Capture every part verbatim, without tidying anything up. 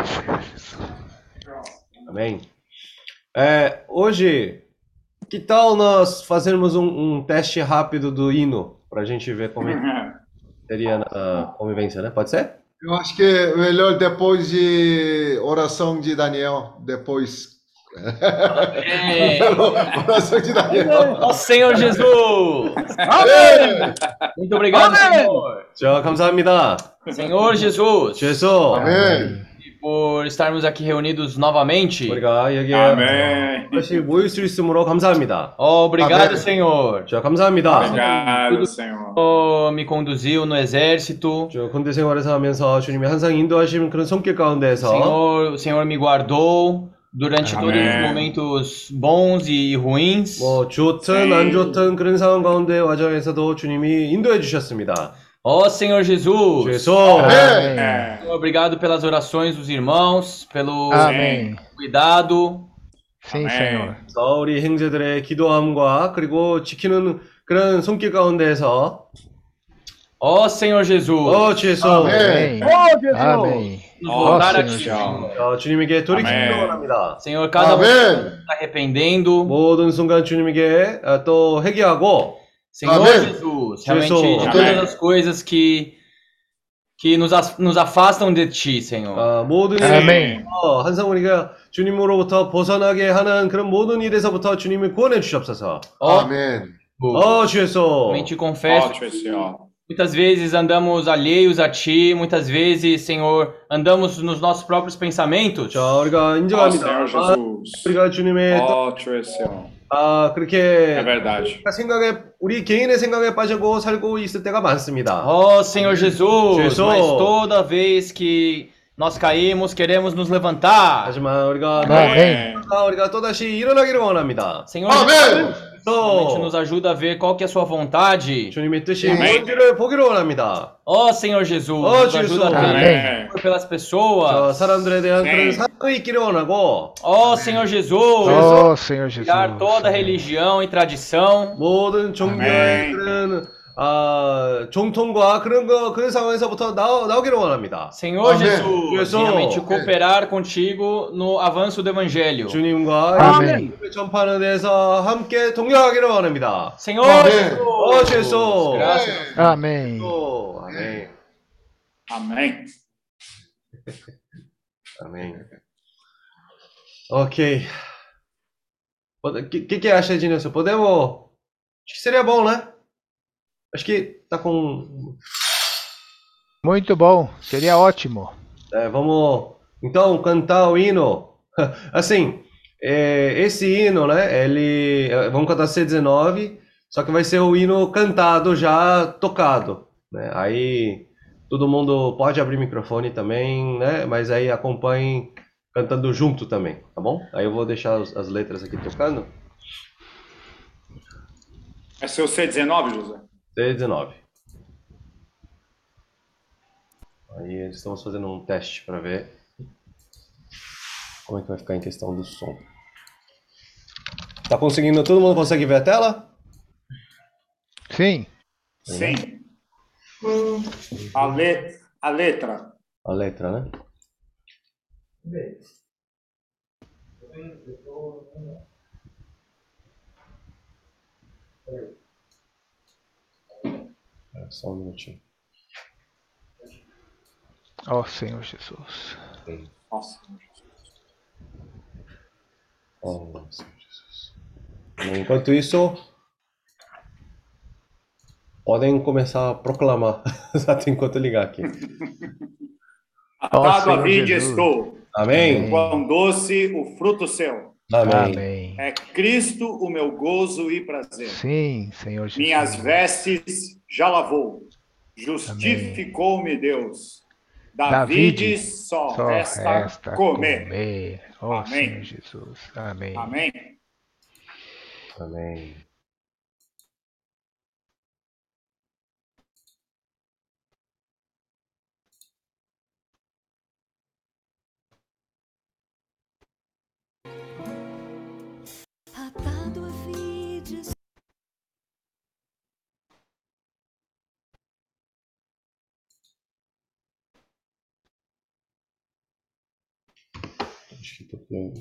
Amém. É, hoje, que tal nós fazermos um, um teste rápido do hino para a gente ver como é que seria na convivência, né? Pode ser? Eu acho que é melhor depois de oração de Daniel, depois. Amém. Oração de Daniel. Ó Senhor Jesus. Amém. Muito obrigado, Amém. Senhor. 자, 감사합니다. Senhor Jesus. 죄송. Amém. E por estarmos aqui reunidos novamente. 우리가 여기에 Amém. 다시 모일 수 있으므로 감사합니다. Ó, obrigado, Amém. Senhor. 자, 감사합니다. Obrigado, Senhor. Oh, me conduziu no exército. 저 군대 생활에서 하면서 주님이 항상 인도하시는 그런 손길 가운데에서 Senhor, o Senhor me guardou durante Amém. todos os momentos bons e ruins. 뭐 좋든 네. 안 좋든 그런 상황 가운데 와정에서도 주님이 인도해 주셨습니다. Ó Senhor Jesus. 죄송. Amém. É. Senhor, obrigado pelas orações dos irmãos, pelo Amém. cuidado. Sim, Amém. Senhor. 그래서 우리 형제들의 기도함과 그리고 지키는 그런 손길 가운데에서 Ó Senhor Jesus. 어 죄송. Amém. Amém. Amém. nos Ó, voltar Senhor aqui, Jesus. Senhor. 어, 주님에게 돌이키기 아멘. 원합니다. Senhor, cada um Amém. está arrependendo. 모든 순간 주님에게 어, 또 회개하고 Senhor Amém. Jesus, realmente Jesus. de Amém. todas as coisas que, que nos, as- nos afastam de Ti, Senhor. 어, 모든 Amém. 일에서 항상 우리가 주님으로부터 벗어나게 하는 그런 모든 일에서부터 주님을 구원해 주시옵소서. Ó, Amém. 어 죄송. também te confesso Ótimo, Senhor. muitas vezes andamos alheios a Ti, muitas vezes, Senhor, andamos nos nossos próprios pensamentos. 자 우리가 Ó, 인정합니다. Senhor 아, Jesus. 우리가 주님의 또, Ótimo, Senhor. 아 É 그렇게 verdade. 생각에 우리 개인의 생각에 빠지고 살고 있을 때가 많습니다. Ó Senhor Jesus, Jesus. mas toda vez que nós caímos, queremos nos levantar. 하지만 우리가 Amém. 아, 우리가 또다시 일어나기를 원합니다. Senhor Amém. realmente 또 nos ajuda a ver qual que é a sua vontade. 주님의 뜻이 아멘. 뭔지를 보기를 원합니다. Ó Senhor Jesus, Ó, nos ajuda a Jesus. ter Amém. amor pelas 저 pessoas. 사람들에 대한 네. 그런 사랑이 있기를 원하고 Ó Senhor Jesus, Oh, Senhor Jesus. tirar toda religião e tradição. 모든 종교의 아멘. 그런 아, 종통과 그런 거 그런 상황에서부터 나오, 나오기를 원합니다. Senhor Amém. Jesus, Jesus. realmente cooperar contigo no avanço do Evangelho. 주님과 아멘. 예수님을 전파하는 데서 함께 동력하기를 원합니다. Senhor Amém. 어, Jesus, Jesus. graças. Amém. 또, 아멘. Amém. Amém. Ok. O que, que, que acha, Ednilson? Podemos. Acho que seria bom, né? Acho que tá com. Muito bom. Seria ótimo. É, vamos então cantar o hino. Assim, é, esse hino, né? Ele. é, Vamos cantar C dezenove, só que vai ser o hino cantado já tocado, né? Aí todo mundo pode abrir microfone também, né? Mas aí acompanhe cantando junto também, tá bom? Aí eu vou deixar as, as letras aqui tocando. É seu C dezenove, José? C dezenove. Aí estamos fazendo um teste para ver como é que vai ficar em questão do som. Tá conseguindo? Todo mundo consegue ver a tela? Sim. Sim. A, le... a letra. A letra, né? É, só um minutinho. Ó Senhor Jesus. Nossa. Oh, Senhor Jesus. Enquanto isso, podem começar a proclamar. Até enquanto eu ligar aqui. Ó Atado a Senhor vide Jesus. estou. Amém? Quão doce o fruto seu. Amém. Amém. É Cristo o meu gozo e prazer. Sim, Senhor Jesus. Minhas vestes já lavou. Justificou-me Deus. David David só, Só resta, resta comer. comer. Ó Amém. Senhor Jesus. Amém. Amém. Amém. Acho que tô com...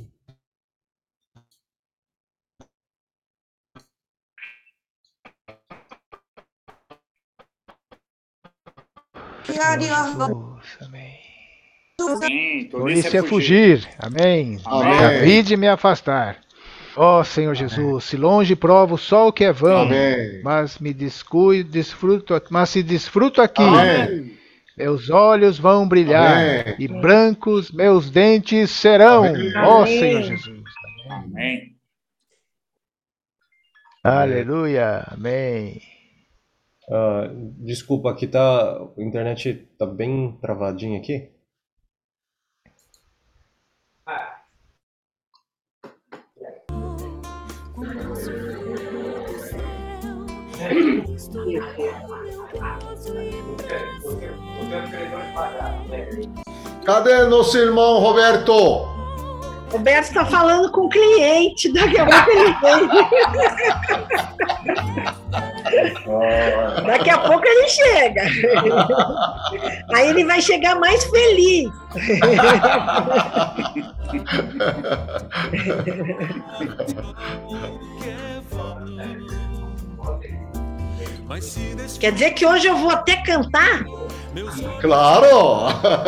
Senhor Jesus, amém. Sim, tolice Tolice é fugir, amém. Amém. David me afastar. Ó Senhor Jesus, se longe provo só o que é vão, Amém. mas me descuido, desfruto, aqui- mas se desfruto aqui, Amém. meus olhos vão brilhar Amém. e brancos meus dentes serão. Amém. Ó Amém. Senhor Jesus. Amém. Aleluia, amém. Ah, desculpa, aqui tá... A internet tá bem travadinha aqui. Cadê nosso irmão Roberto? Roberto está falando com o cliente, daqui a pouco ele vem. Daqui a pouco ele chega. Aí ele vai chegar mais feliz. Quer dizer que hoje eu vou até cantar? Claro!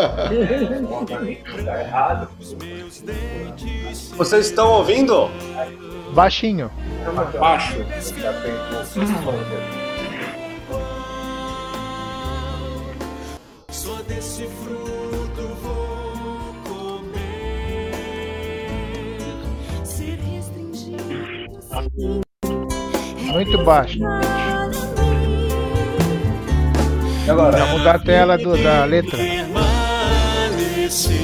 Vocês estão ouvindo? Baixinho. Baixo. Só desse fruto vou comer. Ser restringido. Muito baixo. E agora? Pra mudar a tela do- da letra. Permanecer.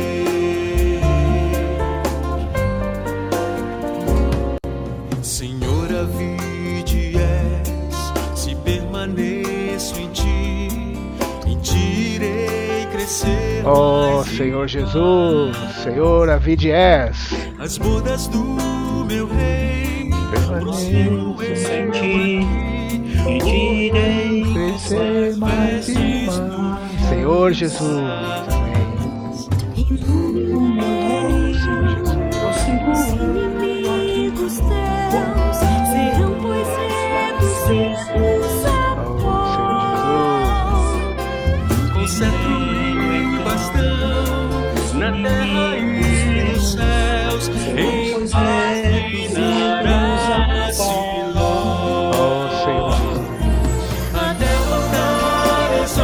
Senhor, a vide és, se permaneço em ti, em ti irei crescer. Ó Senhor Jesus, Senhor, a vide és. As bodas do meu rei Permaneço em ti, em ti irei crescer mais e mais. Senhor Jesus, amém. Os inimigos teus serão, pois reduzidos a pó. Com cetro e bastão, na terra e nos céus, em paz reinarás, Siló. Ó Senhor Jesus. Até voltares, ó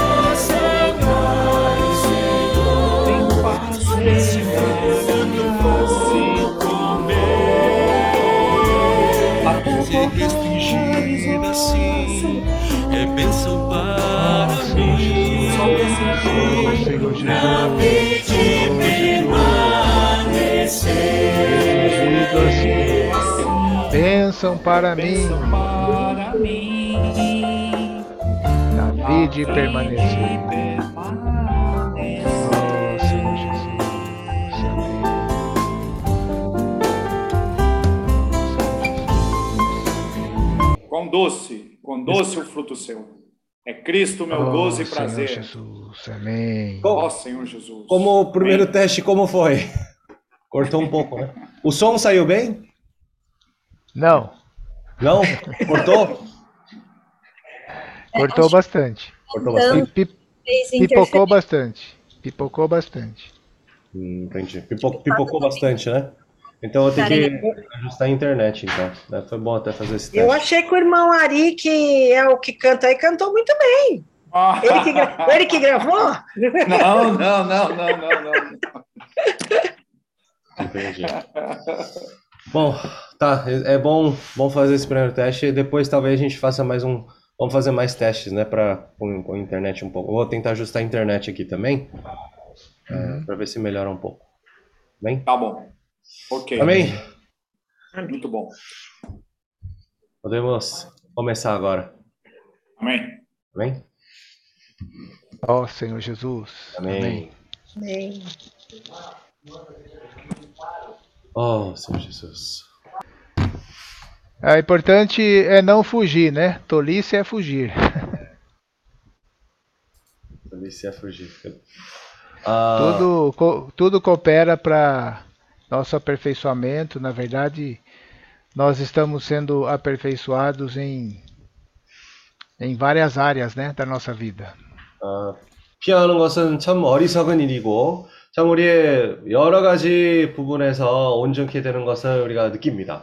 Senhor, em paz esse fruto vou comer. Ser restringido assim é bênção para mim. Ó Senhor Jesus. Reduzido assim. Bênção para mim. David permanecer. Ó Senhor Jesus. Com doce, com doce o fruto seu. É Cristo meu Ó gozo e Senhor prazer. Jesus. Amém. Ó Senhor Jesus. Como o primeiro Amém. teste, como foi? Cortou um pouco, né? O som saiu bem? Não, Não? Cortou? cortou bastante. Cortou bastante. Pi- pi- Fez Pipocou interferência. bastante. Pipocou bastante. Hum, entendi. Pipo- pipocou bastante, né? Então eu tenho que ajustar a internet, então. Né? Foi bom até fazer esse Eu teste. achei que o irmão Ari, que é o que canta aí, cantou muito bem. Ah, Ele que, gra- ele que gravou? Não, não, não, não, não, não. Entendi. Bom, tá. É é bom, bom fazer esse primeiro teste e depois talvez a gente faça mais um. Vamos fazer mais testes, né? Pra, com, com a internet um pouco. Eu vou tentar ajustar a internet aqui também. É, pra ver se melhora um pouco. Bem? Tá bom. Ok. Amém? Muito bom. Podemos começar agora. Amém. Amém? Ó Senhor Jesus. Amém. Amém. Oh, Senhor Jesus. É importante é não fugir, né? Tolice é fugir. Tolice é fugir. 아, Tudo, co- tudo coopera para nosso aperfeiçoamento. Na verdade, nós estamos sendo aperfeiçoados em, em várias áreas, né, da nossa vida. 아, 피하는 것은 참 어리석은 일이고, 참 우리의 여러 가지 부분에서 온전케 되는 것을 우리가 느낍니다.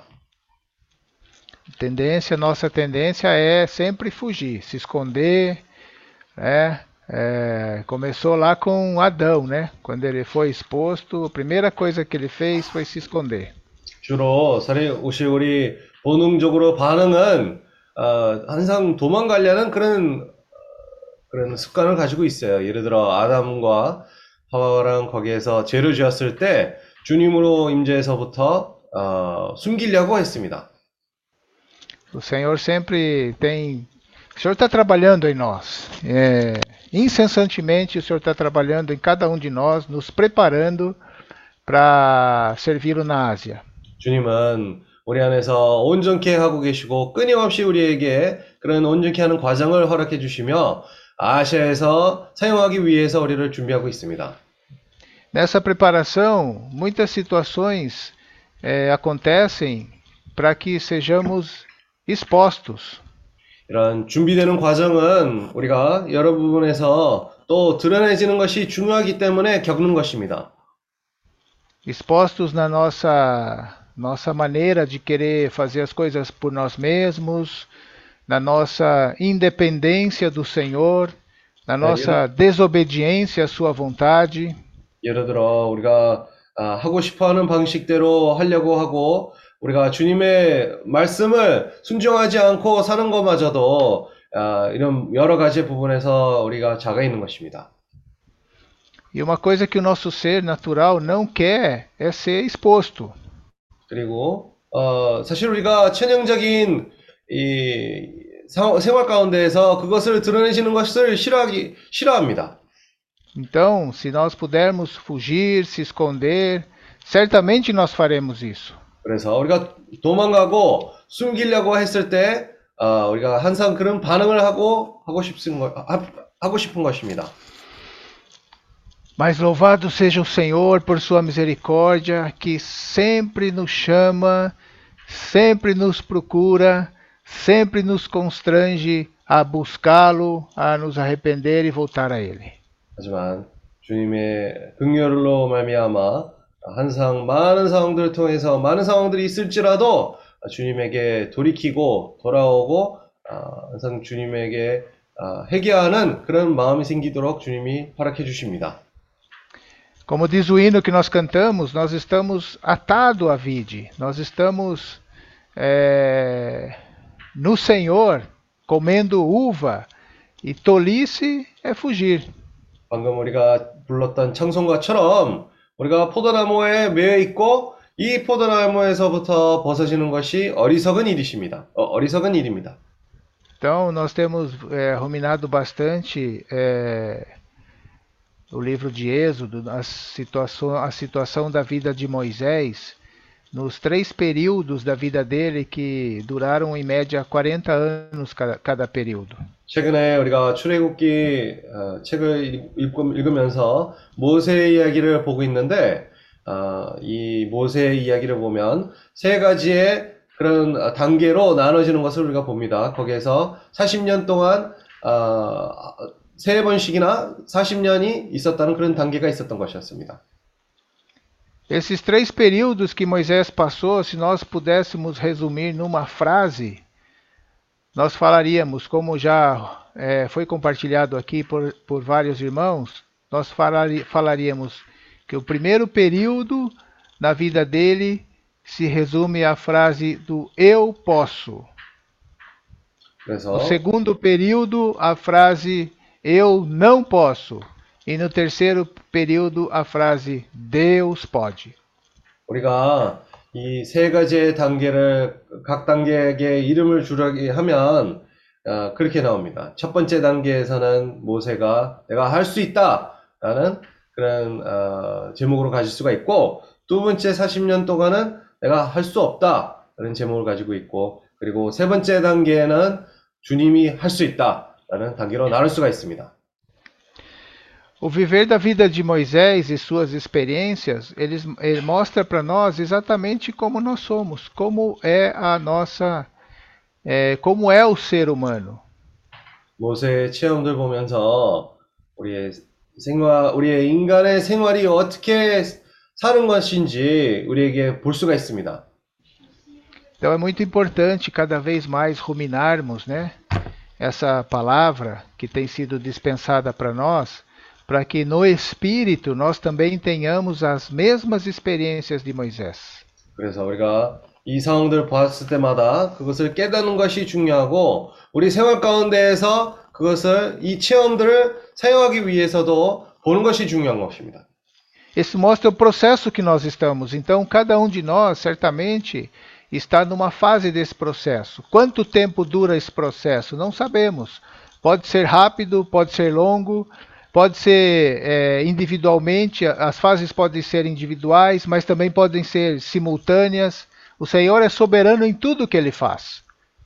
Tendência, nossa tendência é sempre fugir, se esconder, né? É, começou lá com Adão, né? Quando ele foi exposto, a primeira coisa que ele fez foi se esconder. 주로 사실 혹시 우리 본능적으로 반응은 어, 항상 도망가려는 그런 그런 습관을 가지고 있어요. 예를 들어 아담과 하와랑 거기에서 죄를 지었을 때 주님으로 임재에서부터 어, 숨기려고 했습니다. O Senhor sempre tem. O Senhor está trabalhando em nós. É, incessantemente, o Senhor está trabalhando em cada um de nós, nos preparando para servi-lo na Ásia. 주님은 우리 안에서 온전케 하고 계시고 끊임없이 u리에게 그런 온전케 하는 과정을 허락해 주시며 아시아에서 사용하기 위해서 우리를 준비하고 있습니다. Nessa preparação, muitas situações é, acontecem para que sejamos expostos. 이런 준비되는 과정은 우리가 여러 부분에서 또 드러내지는 것이 중요하기 때문에 겪는 것입니다. Expostos na nossa, nossa maneira de querer fazer as coisas por nós mesmos, na nossa independência do Senhor, na nossa desobediência à Sua vontade. 예를 들어 우리가 아, 하고 싶어하는 방식대로 하려고 하고 우리가 주님의 말씀을 순종하지 않고 사는 것마저도 아, 이런 여러 가지 부분에서 우리가 작아 있는 것입니다. E uma coisa que o nosso ser natural não quer é ser exposto. 그리고 어, 사실 우리가 천연적인 이 사- 생활 가운데에서 그것을 드러내시는 것을 싫어하기 싫어합니다. Então, se nós pudermos fugir, se esconder, certamente nós faremos isso. 그래서 우리가 도망가고 숨기려고 했을 때 어, 우리가 항상 그런 반응을 하고 하고 싶은 거 하- 하고 싶은 것입니다. Mas louvado seja o Senhor por sua misericórdia, que sempre nos chama, sempre nos procura, sempre nos constrange a buscá-lo, a nos arrepender e voltar a Ele. 하지만 주님의 긍휼로 말미암아 항상 많은 상황들을 통해서 많은 상황들이 있을지라도 주님에게 돌이키고 돌아오고 아, 항상 주님에게 아, 회개하는 그런 마음이 생기도록 주님이 허락해 주십니다. Como diz o hino que nós cantamos, nós estamos atados à vide, nós estamos é, no Senhor, comendo uva, e tolice é fugir. 방금 우리가 불렀던 찬송가처럼 우리가 포도나무에 매여 있고 이 포도나무에서부터 벗어지는 것이 어리석은 일이십니다. 어, 어리석은 일입니다. Então, nós temos é, ruminado bastante é, o livro de Êxodo, a situação, a situação da vida de Moisés, nos três períodos da vida dele que duraram em média quarenta anos cada, cada período. 최근에 우리가 출애굽기 어, 책을 읽, 읽- 읽으면서 모세의 이야기를 보고 있는데 어, 이 모세의 이야기를 보면 세 가지의 그런 어, 단계로 나눠지는 것을 우리가 봅니다. 거기에서 사십 년 동안 어, 세 번씩이나 사십 년이 있었다는 그런 단계가 있었던 것이었습니다. Esses três períodos que Moisés passou, se nós pudéssemos resumir numa frase, nós falaríamos, como já é, foi compartilhado aqui por, por vários irmãos, nós falari, falaríamos que o primeiro período na vida dele se resume à frase do eu posso. 그래서 No segundo período, a frase eu não posso. E no terceiro período, a frase Deus pode. 우리가 이 세 가지의 단계를 각 단계에게 이름을 주라기 하면 어, 그렇게 나옵니다. 첫 번째 단계에서는 모세가 내가 할 수 있다라는 그런 어, 제목으로 가질 수가 있고 두 번째 사십 년 동안은 내가 할 수 없다라는 제목을 가지고 있고 그리고 세 번째 단계에는 주님이 할 수 있다라는 단계로 나눌 수가 있습니다. O viver da vida de Moisés e suas experiências, eles, ele mostra para nós exatamente como nós somos, como é a nossa, é, como é o ser humano. 모세의 체험들 보면서 우리의 생활, 우리의 인간의 생활이 어떻게 사는 것인지 우리에게 볼 수가 있습니다. Então é muito importante cada vez mais ruminarmos, né, essa palavra que tem sido dispensada para nós, para que no Espírito nós também tenhamos as mesmas experiências de Moisés. 그래서 우리가 이 상황들을 봤을 때마다 그것을 깨닫는 것이 중요하고 우리 생활 가운데에서 그것을 이 체험들을 사용하기 위해서도 보는 것이 중요한 것입니다. Isso mostra o processo que nós estamos. Então, cada um de nós, certamente, está numa fase desse processo. Quanto tempo dura esse processo? Não sabemos. Pode ser rápido, pode ser longo, pode ser é, individualmente, as fases podem ser individuais, mas também podem ser simultâneas. O Senhor é soberano em tudo que Ele faz.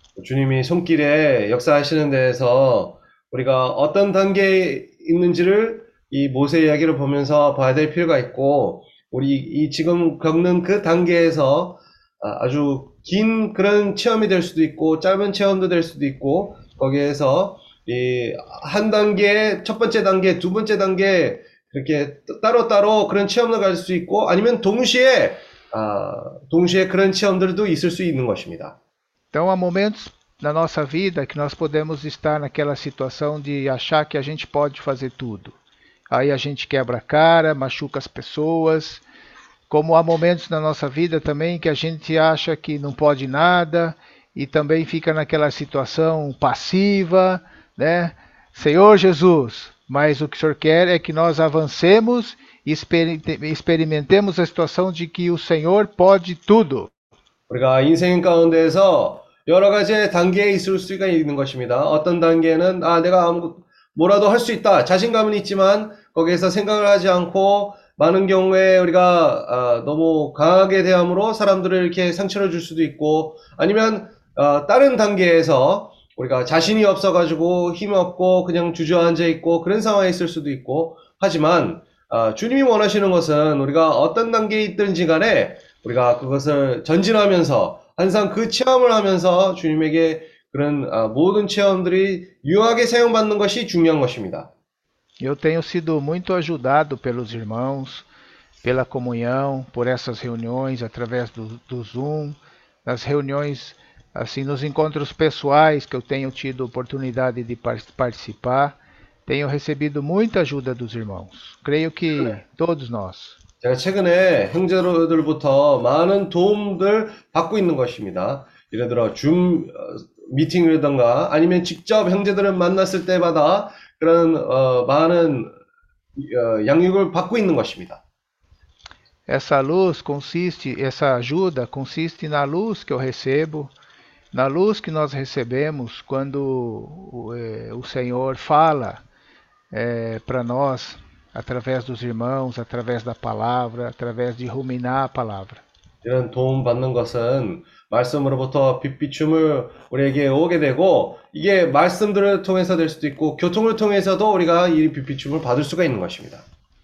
주님이 손길에 역사하시는 데에서 우리가 어떤 단계에 있는지를 이 모세 이야기를 보면서 봐야 될 필요가 있고 우리 이 지금 겪는 그 단계에서 아주 긴 그런 체험이 될 수도 있고 짧은 체험도 될 수도 있고 거기에서 이 한 단계, 첫 번째 단계, 두 번째 단계 그렇게 따로따로 그런 체험을 가질 수 있고 아니면 동시에 아, 동시에 그런 체험들도 있을 수 있는 것입니다. Então há momentos na nossa vida que nós podemos estar naquela situação de achar que a gente pode fazer tudo. Aí a gente quebra a cara, machuca as pessoas. Como há momentos na nossa vida também que a gente acha que não pode nada e também fica naquela situação passiva, né? Senhor Jesus, mas o que o Senhor quer é que nós avancemos e experimentemos a situação de que o Senhor pode tudo. 우리가 인생 가운데서 여러 가지 단계에 있을 수가 있는 것입니다. 어떤 단계는 아 내가 아무 뭐라도 할 수 있다. 자신감은 있지만 거기에서 생각을 하지 않고 많은 경우에 우리가 어, 너무 강하게 대함으로 사람들을 이렇게 상처를 줄 수도 있고 아니면 어, 다른 단계에서 우리가 자신이 없어가지고 힘이 없고 그냥 주저앉아 있고 그런 상황에 있을 수도 있고 하지만 어, 주님이 원하시는 것은 우리가 어떤 단계에 있든지 간에 우리가 그것을 전진하면서 항상 그 체험을 하면서 주님에게 그런 어, 모든 체험들이 유용하게 사용받는 것이 중요한 것입니다. Eu tenho sido muito ajudado pelos irmãos, pela comunhão, por essas reuniões através do, do Zoom, nas reuniões, assim, nos encontros pessoais que eu tenho tido oportunidade de participar. Tenho recebido muita ajuda dos irmãos. Creio que todos nós. 제가 최근에 형제들부터 많은 도움들 받고 있는 것입니다. 예를 들어 줌 미팅이라든가 아니면 직접 형제들을 만났을 때마다 그런 어, 많은 어, 양육을 받고 있는 것입니다. Essa luz consiste, essa ajuda consiste na luz que eu recebo, na luz que nós recebemos quando o, é, o Senhor fala é, para nós, através dos irmãos, através da palavra, através de ruminar a palavra. 이런 도움 받는 것은 말씀으로부터 빛비춤을 우리에게 오게 되고 이게 말씀들을 통해서 될 수도 있고 교통을 통해서도 우리가 이 빛비춤을 받을 수가 있는 것입니다.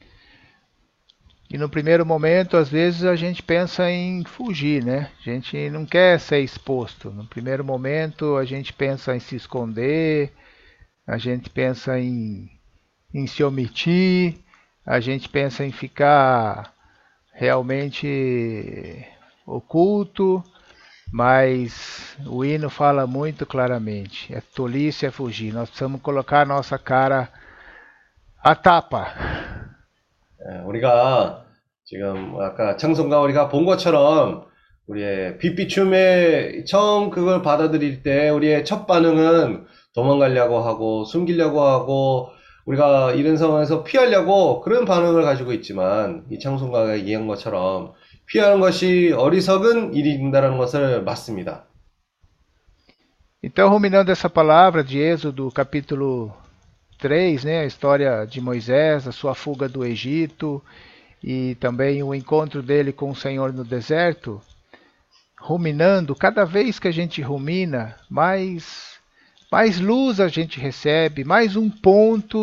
E no primeiro momento, às vezes a gente pensa em fugir, né? A gente não quer ser exposto. No primeiro momento, a gente pensa em se esconder, a gente pensa em, em se omitir, a gente pensa em ficar realmente oculto, mas o hino fala muito claramente, é tolice é fugir, nós precisamos colocar a nossa cara à tapa. 예, 우리가 지금 아까 찬송가 우리가 본 것처럼 우리의 빛비춤에 처음 그걸 받아들일 때 우리의 첫 반응은 도망가려고 하고 숨기려고 하고 우리가 이런 상황에서 피하려고 그런 반응을 가지고 있지만 이 찬송가가 얘기한 것처럼 피하는 것이 어리석은 일이 된다는 것을 맞습니다. Então, ruminando essa palavra de Êxodo, capítulo três, né, a história de Moisés, a sua fuga do Egito e também o encontro dele com o Senhor no deserto, ruminando, cada vez que a gente rumina, mais, mais luz a gente recebe, mais um ponto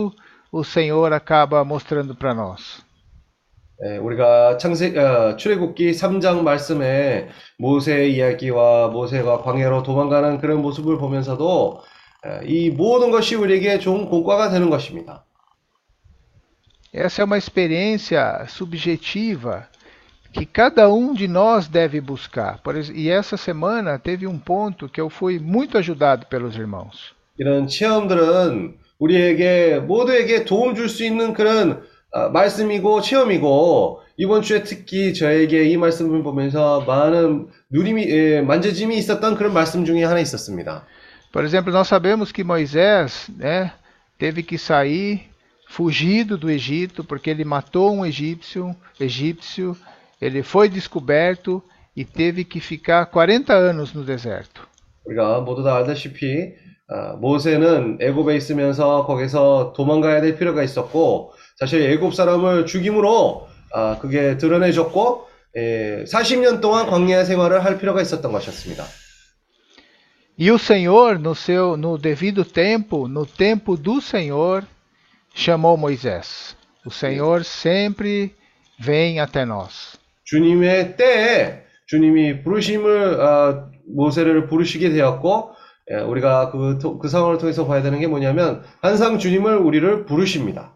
o Senhor acaba mostrando para nós. 예, 우리가 창세, 어, 출애굽기 삼 장 말씀에 모세의 이야기와 모세가 광야로 도망가는 그런 모습을 보면서도 에, 이 모든 것이 우리에게 좋은 공과가 되는 것입니다. Essa é uma experiência subjetiva que cada um de nós deve buscar. Por ex- E essa semana teve um ponto que eu fui muito ajudado pelos irmãos. 이런 체험들은 우리에게 모두에게 도움 줄 수 있는 그런 아, 말씀이고 체험이고 이번 주에 특히 저에게 이 말씀을 보면서 많은 누림이 예, 만져짐이 있었던 그런 말씀 중에 하나 있었습니다. Por exemplo, nós sabemos que Moisés, né, teve que sair fugido do Egito porque ele matou um egípcio, egípcio, ele foi descoberto e teve que ficar quarenta anos no deserto. 우리가 모두 다 알다시피 아, 모세는 애굽에 있으면서 거기서 도망가야 될 필요가 있었고 사실 애굽 사람을 죽임으로 아, 그게 드러내졌고 예, 사십 년 동안 광야 생활을 할 필요가 있었던 것이었습니다. E o Senhor, no seu, no devido tempo, no tempo do Senhor, chamou Moisés. O Senhor sempre vem até nós. 주님의 때에 주님이 부르심을 아, 모세를 부르시게 되었고 예, 우리가 그, 토- 그 상황을 통해서 봐야 되는 게 뭐냐면 항상 주님을 우리를 부르십니다.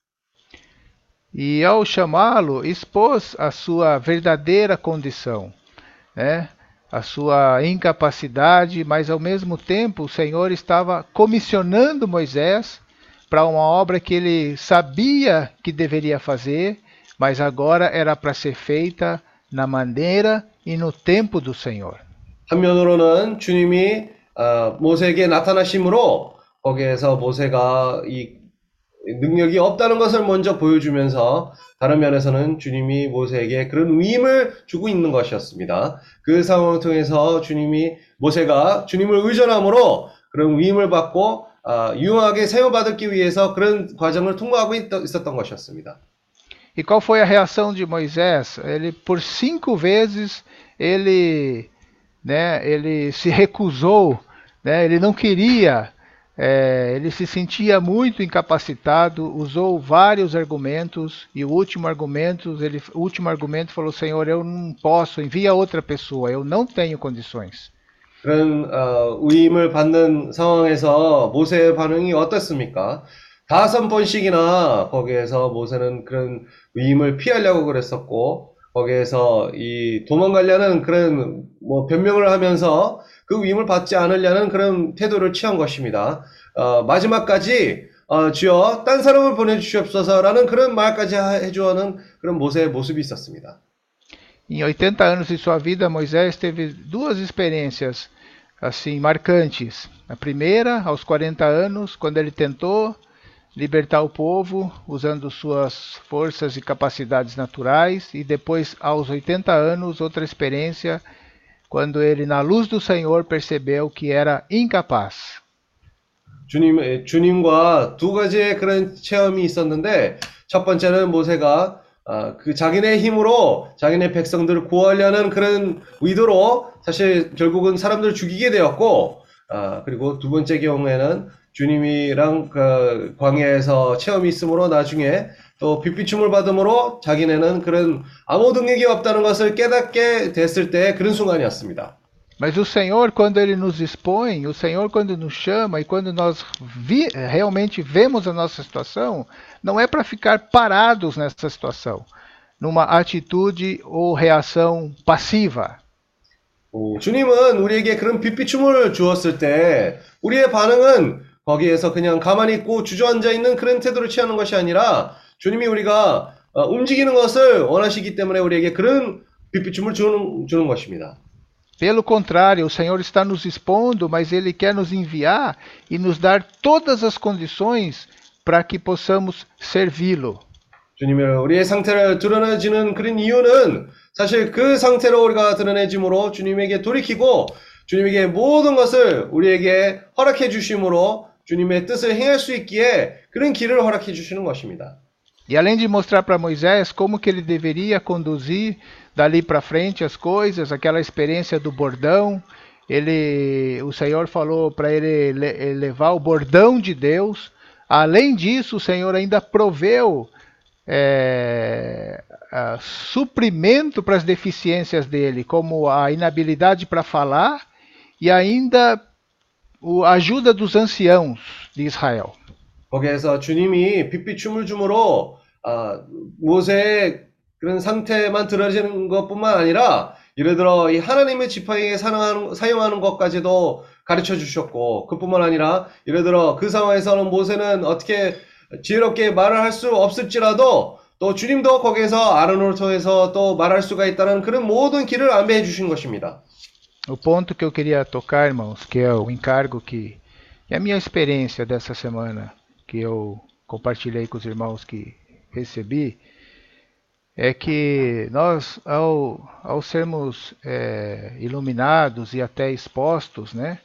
E ao chamá-lo, expôs a sua verdadeira condição, né? A sua incapacidade, mas ao mesmo tempo o Senhor estava comissionando Moisés para uma obra que ele sabia que deveria fazer, mas agora era para ser feita na maneira e no tempo do Senhor. 한면으로는 주님이 아, 모세에게 나타나심으로 거기에서 모세가 이 능력이 없다는 것을 먼저 보여주면서 다른 면에서는 주님이 모세에게 그런 위임을 주고 있는 것이었습니다. 그 상황을 통해서 주님이 모세가 주님을 의존함으로 그런 위임을 받고 아, 유용하게 사용받기 위해서 그런 과정을 통과하고 있, 있었던 것이었습니다. E qual foi a reação de Moisés? Ele por cinco vezes ele, né, ele se recusou, né, ele não queria, é, ele se sentia muito incapacitado, usou vários argumentos e o último argumento, ele, o último argumento falou: Senhor, eu não posso, envia outra pessoa, eu não tenho condições. 그런 어, 위임을 받는 상황에서 모세의 반응이 어떻습니까? 다섯 번씩이나 거기에서 모세는 그런 위임을 피하려고 그랬었고 거기에서 이 도망가려는 그런 뭐 변명을 하면서 그 위임을 받지 않으려는 그런 태도를 취한 것입니다. 어, 마지막까지 어, 주여 딴 사람을 보내주시옵소서라는 그런 말까지 해주어는 그런 모세의 모습이 있었습니다. Em oitenta anos de sua vida, Moisés teve duas experiências assim marcantes. A primeira, aos quarenta anos, quando ele tentou libertar o povo usando suas forças e capacidades naturais, e depois aos oitenta anos, outra experiência, quando ele, na luz do Senhor, percebeu que era incapaz. 주님, 주님과 두 가지의 그런 체험이 있었는데, 첫 번째는 모세가 아, 그 자기네 힘으로 자기네 백성들을 구하려는 그런 의도로 사실 결국은 사람들을 죽이게 되었고, 아, 그리고 두 번째 경우에는 주님이랑 그 광야에서 체험이 있으므로 나중에 또 빛비춤을 받음으로 자기네는 그런 아무 능력이 없다는 것을 깨닫게 됐을 때 그런 순간이었습니다. Mas o Senhor, quando Ele nos expõe, o Senhor, quando nos chama e quando nós vi, realmente vemos a nossa situação, não é para ficar parados nessa situação, numa atitude ou reação passiva. 오, 주님은 우리에게 그런 빛비춤을 주었을 때 우리의 반응은 거기에서 그냥 가만히 있고 주저앉아 있는 그런 태도를 취하는 것이 아니라 주님이 우리가 어, 움직이는 것을 원하시기 때문에 우리에게 그런 빛비춤을 주는, 주는 것입니다. Pelo contrário, o Senhor está nos expondo, mas Ele quer nos enviar e nos dar todas as condições para que possamos servi-lo. 주님이 우리의 상태를 드러내지는 그런 이유는 사실 그 상태로 우리가 드러내짐으로 주님에게 돌이키고 주님에게 모든 것을 우리에게 허락해 주심으로 주님의 뜻을 행할 수 있기에 그런 길을 허락해 주시는 것입니다. E além de mostrar para Moisés como que ele deveria conduzir dali para frente as coisas, aquela experiência do bordão, ele, o Senhor falou para ele le, levar o bordão de Deus Além disso, o Senhor ainda proveu é, a, suprimento para as deficiências dele, como a inabilidade para falar e ainda a ajuda dos anciãos de Israel. 거기에서 주님이 빛비춤을 줌으로 아, 모세의 그런 상태만 드러지는 것뿐만 아니라 예를 들어 이 하나님의 지팡이에 사용하는, 사용하는 것까지도 가르쳐 주셨고 그뿐만 아니라 예를 들어 그 상황에서는 모세는 어떻게 지혜롭게 말을 할 수 없을지라도 또 주님도 거기에서 아론을 통해서 또 말할 수가 있다는 그런 모든 길을 안배해 주신 것입니다. O ponto que eu queria tocar, irmãos, que é o encargo que, que é a minha experiência dessa semana, que eu compartilhei com os irmãos que recebi, é que nós, ao, ao sermos é, iluminados e até expostos, né,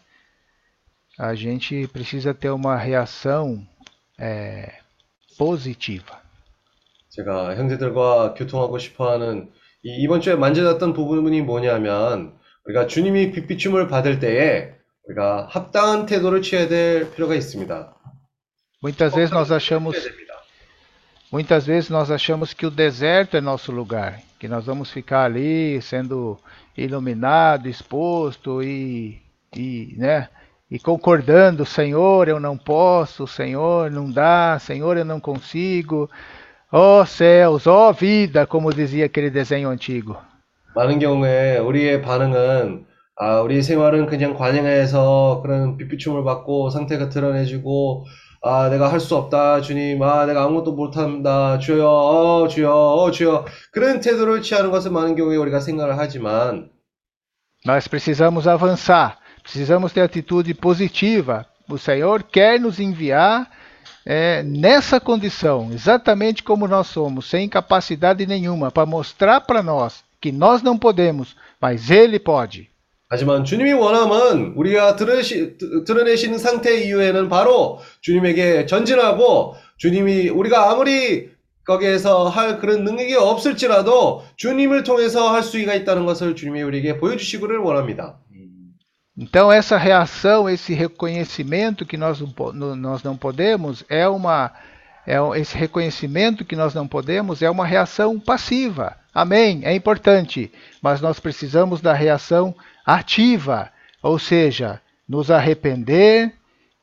a gente precisa ter uma reação é, positiva. 제가 형제들과 교통하고 싶어하는 이 이번 주에 만져졌던 부분이 뭐냐면 우리가 주님이 빛비춤을 받을 때에 우리가 합당한 태도를 취해야 될 필요가 있습니다. Muitas vezes nós achamos Muitas vezes nós achamos que o deserto é nosso lugar, que nós vamos ficar ali sendo iluminado, exposto e, e, né, e concordando, Senhor, eu não posso, Senhor, não dá, Senhor, eu não consigo, ó céus, ó vida, como dizia aquele desenho antigo. 많은 경우에 우리의 반응은 아, 우리 생활은 그냥 관행해서 그런 빛비춤을 받고 상태가 드러내지고 아, 내가 할 수 없다, 주님. 아, 내가 아무것도 못한다, 주여, 어, 주여, 어, 주여. 그런 태도를 취하는 것은 많은 경우에 우리가 생각을 하지만 Nós precisamos avançar, precisamos ter atitude positiva. O Senhor quer nos enviar é, nessa condição, exatamente como nós somos, sem capacidade nenhuma, para mostrar para nós que nós não podemos, mas Ele pode. 하지만 주님이 원함은 우리가 드러시, 드러내시는 상태 이후에는 바로 주님에게 전진하고 주님이 우리가 아무리 거기에서 할 그런 능력이 없을지라도 주님을 통해서 할 수가 있다는 것을 주님이 우리에게 보여주시기를 원합니다. Então essa reação, esse reconhecimento que nós, nós não podemos é uma é, esse reconhecimento que nós não podemos é uma reação passiva. Amém, é importante, mas nós precisamos da reação ativa, ou seja, nos arrepender,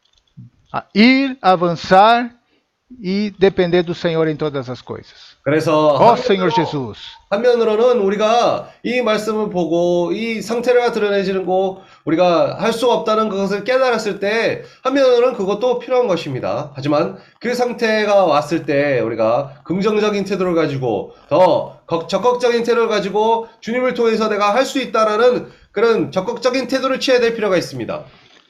ir, avançar e depender do Senhor em todas as coisas. 그래서 Ó Senhor Jesus. 한면으로는 우리가 이 말씀을 보고 이 상태가 드러내지는 거 우리가 할 수 없다는 것을 깨달았을 때 한면으로는 그것도 필요한 것입니다. 하지만 그 상태가 왔을 때 우리가 긍정적인 태도를 가지고 더 적극적인 태도를 가지고 주님을 통해서 내가 할 수 있다라는 그런 적극적인 태도를 취해야 될 필요가 있습니다.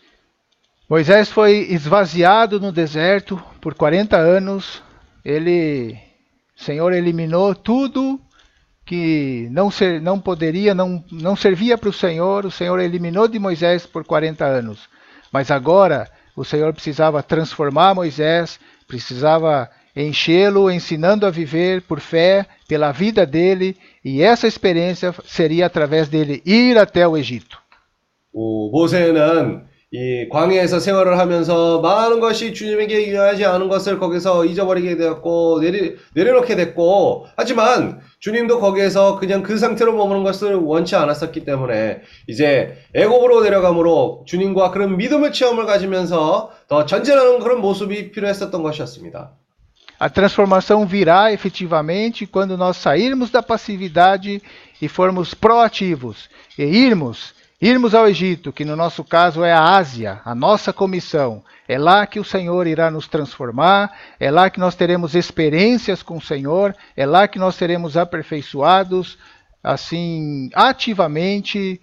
Moisés foi esvaziado no deserto por quarenta anos. Ele, o Senhor eliminou tudo que não, ser, não poderia, não, não servia para o Senhor. O Senhor eliminou de Moisés por quarenta anos. Mas agora o Senhor precisava transformar Moisés, precisava enchê-lo, ensinando a viver por fé, pela vida dele, e essa experiência seria através dele ir até o Egito. 오, 모세는 이 광야에서 생활을 하면서 많은 것이 주님에게 유하지 않은 것을 거기서 잊어버리게 되었고 내리, 내려놓게 됐고 하지만 주님도 거기에서 그냥 그 상태로 머무는 것을 원치 않았었기 때문에 이제 애굽으로 내려감으로 주님과 그런 믿음의 체험을 가지면서 더 전진하는 그런 모습이 필요했었던 것이었습니다. A transformação virá efetivamente quando nós sairmos da passividade e formos proativos e irmos Irmos ao Egito, que no nosso caso é a Ásia, a nossa comissão. É lá que o Senhor irá nos transformar, é lá que nós teremos experiências com o Senhor, é lá que nós seremos aperfeiçoados, assim, ativamente,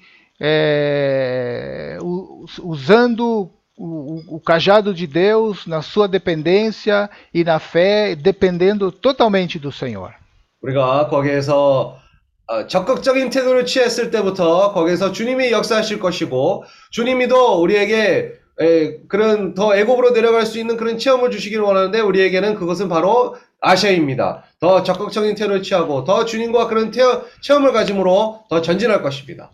é, usando o, o cajado de Deus na sua dependência e na fé, dependendo totalmente do Senhor. 우리가 거기에서 어, 적극적인 태도를 취했을 때부터 거기서 주님이 역사하실 것이고 주님이도 우리에게 에, 그런 더 애굽으로 내려갈 수 있는 그런 체험을 주시기를 원하는데 우리에게는 그것은 ba로 아시아입니다. 더 적극적인 태도를 취하고 더 주님과 그런 태어, 체험을 가짐으로 더 전진할 것입니다.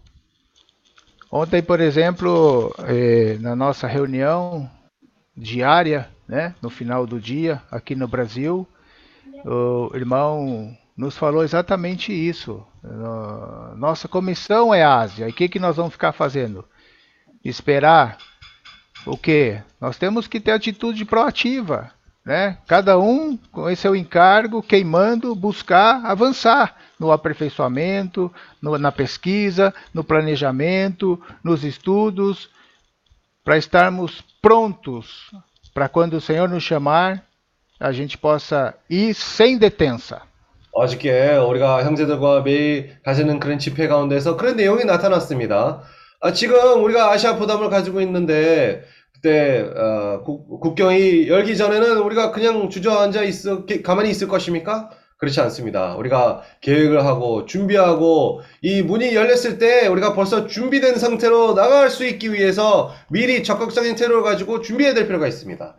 Ontem, por exemplo, eh, na nossa reunião diária, né, no final do dia, aqui no Brasil. O irmão nos falou exatamente isso. Nossa comissão é Ásia. E o que, que nós vamos ficar fazendo? Esperar o quê? Nós temos que ter atitude proativa, né? Cada um com esse seu encargo, queimando, buscar avançar no aperfeiçoamento, no, na pesquisa, no planejamento, nos estudos, para estarmos prontos para quando o Senhor nos chamar, a gente possa ir sem detença. 어저께 우리가 형제들과 매일 가지는 그런 집회 가운데서 그런 내용이 나타났습니다. 아, 지금 우리가 아시아 부담을 가지고 있는데 그때 어, 국, 국경이 열기 전에는 우리가 그냥 주저앉아 있어 가만히 있을 것입니까? 그렇지 않습니다. 우리가 계획을 하고 준비하고 이 문이 열렸을 때 우리가 벌써 준비된 상태로 나갈 수 있기 위해서 미리 적극적인 태도를 가지고 준비해야 될 필요가 있습니다.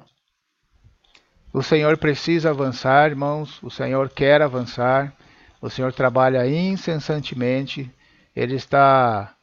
O Senhor precisa avançar, irmãos. O Senhor quer avançar. O Senhor trabalha incessantemente. Ele está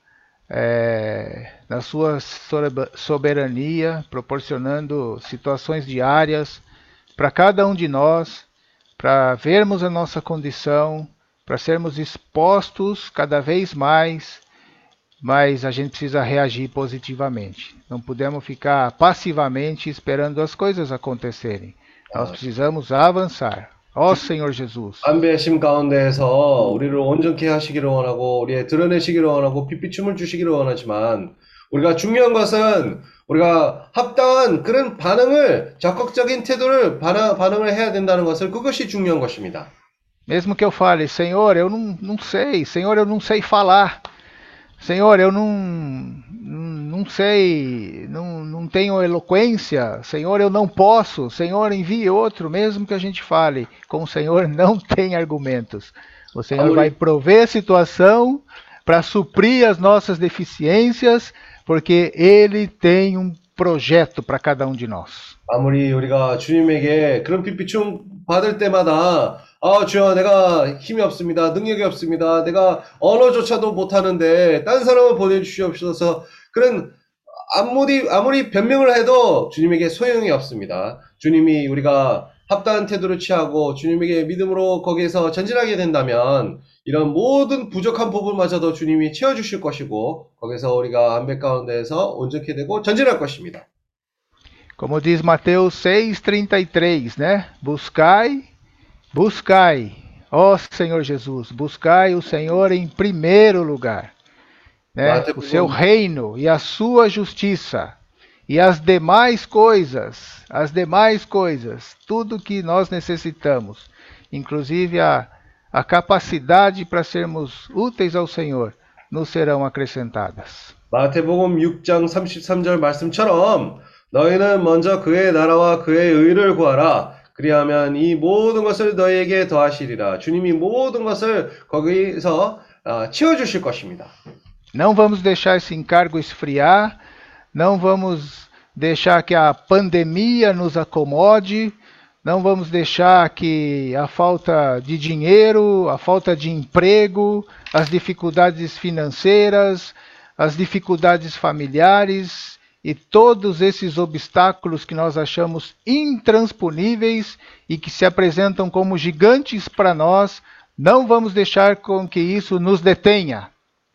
é, na sua soberania, proporcionando situações diárias para cada um de nós, para vermos a nossa condição, para sermos expostos cada vez mais, mas a gente precisa reagir positivamente. Não podemos ficar passivamente esperando as coisas acontecerem. Nós precisamos avançar. Ó Senhor Jesus. 안배심 가운데에서 우리를 온전케 하시기를 원하고 우리의 드러내시기를 원하고 빛비춤을 주시기를 원하지만 우리가 중요한 것은 우리가 합당한 그런 반응을 적극적인 태도를 반응, 반응을 해야 된다는 것을 그것이 중요한 것입니다. Mesmo que eu fale, Senhor, eu não, não sei, Senhor, eu não sei falar. Senhor, eu não, não, não sei, não, não tenho eloquência. Senhor, eu não posso. Senhor, envie outro, mesmo que a gente fale. Com o Senhor não tem argumentos. O Senhor vai prover a situação para suprir as nossas deficiências, porque Ele tem um projeto para cada um de nós. 아무리 우리가 주님에게 그런 빛비춤 받을 때마다 아, 주여, 내가 힘이 없습니다. 능력이 없습니다. 내가 언어조차도 못하는데 딴 사람을 보내주시옵소서. 그런 아무리 아무리 변명을 해도 주님에게 소용이 없습니다. 주님이 우리가 합당한 태도를 취하고 주님에게 믿음으로 거기에서 전진하게 된다면 이런 모든 부족한 부분마저도 주님이 채워주실 것이고 거기서 우리가 안배 가운데에서 온전케 되고 전진할 것입니다. Como diz Mateus seis, trinta e três, né? Buscai Buscai, ó Senhor Jesus, buscai o Senhor em primeiro lugar, né? O seu reino e a sua justiça, e as demais coisas, as demais coisas, tudo que nós necessitamos, inclusive a, a capacidade para sermos úteis ao Senhor, nos serão acrescentadas. 마태복음 육 장 삼십삼 절 말씀처럼 너희는 먼저 그의 나라와 그의 의를 구하라. 그리하면 이 모든 것을 너희에게 더하시리라. 주님이 모든 것을 거기서 어, 채워주실 것입니다. Não vamos deixar esse encargo esfriar, não vamos deixar que a pandemia nos acomode, não vamos deixar que a falta de dinheiro, a falta de emprego, as dificuldades financeiras, as dificuldades familiares e todos esses obstáculos que nós achamos intransponíveis e que se apresentam como gigantes para nós, não vamos deixar com que isso nos detenha.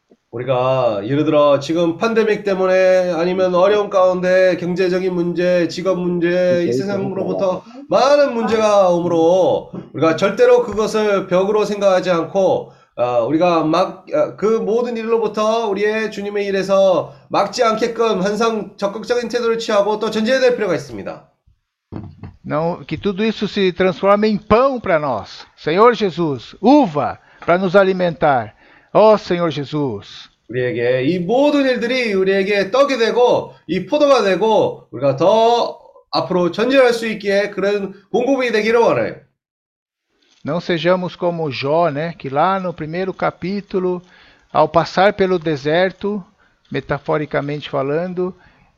우리가 예를 들어 지금 팬데믹 때문에 아니면 어려운 가운데 경제적인 문제, 직업 문제, 이 세상으로부터 많은 문제가 오므로 우리가 절대로 그것을 벽으로 생각하지 않고 어, 우리가 막, 그 모든 일로부터 우리의 주님의 일에서 막지 않게끔 항상 적극적인 태도를 취하고 또 전진해야 될 필요가 있습니다. Não, que tudo isso se transforme em pão para nós. Senhor Jesus, uva para nos alimentar. Ó Senhor Jesus. 우리에게 이 모든 일들이 우리에게 떡이 되고 이 포도가 되고 우리가 더 앞으로 전진할 수 있기에 그런 공급이 되기를 원해요. Não sejamos como Jó, né, que lá no primeiro capítulo, ao passar pelo deserto, metaforicamente falando,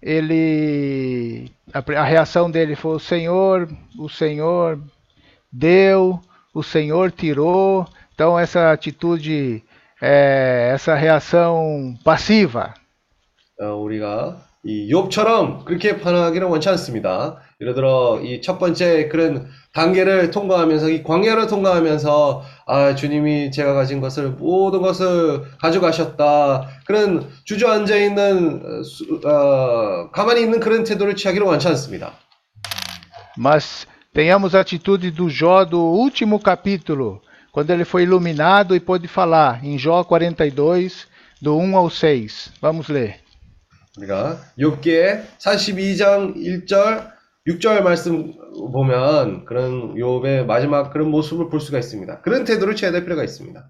ele a, a reação dele foi: o Senhor, o Senhor deu, o Senhor tirou. Então essa atitude, é, essa reação passiva. 어, 우리가 이 욥처럼 그렇게 반응하기는 원치 않습니다. 예를 들어 이 첫 번째 그런 단계를 통과하면서 이 광야를 통과하면서 아 주님이 제가 가진 것을 모든 것을 가져가셨다 그런 주저앉아 있는 어, 가만히 있는 그런 태도를 취하기를 원치 않습니다. Mas tenhamos a atitude do Jó do último capítulo, quando ele foi iluminado e pôde falar, em Jó quarenta e dois, do um ao seis. Vamos ler. 우리가 욥기의 사십이 장 일 절, 육 절 말씀 보면 그런 욥의 마지막 그런 모습을 볼 수가 있습니다. 그런 태도를 취해야 될 필요가 있습니다.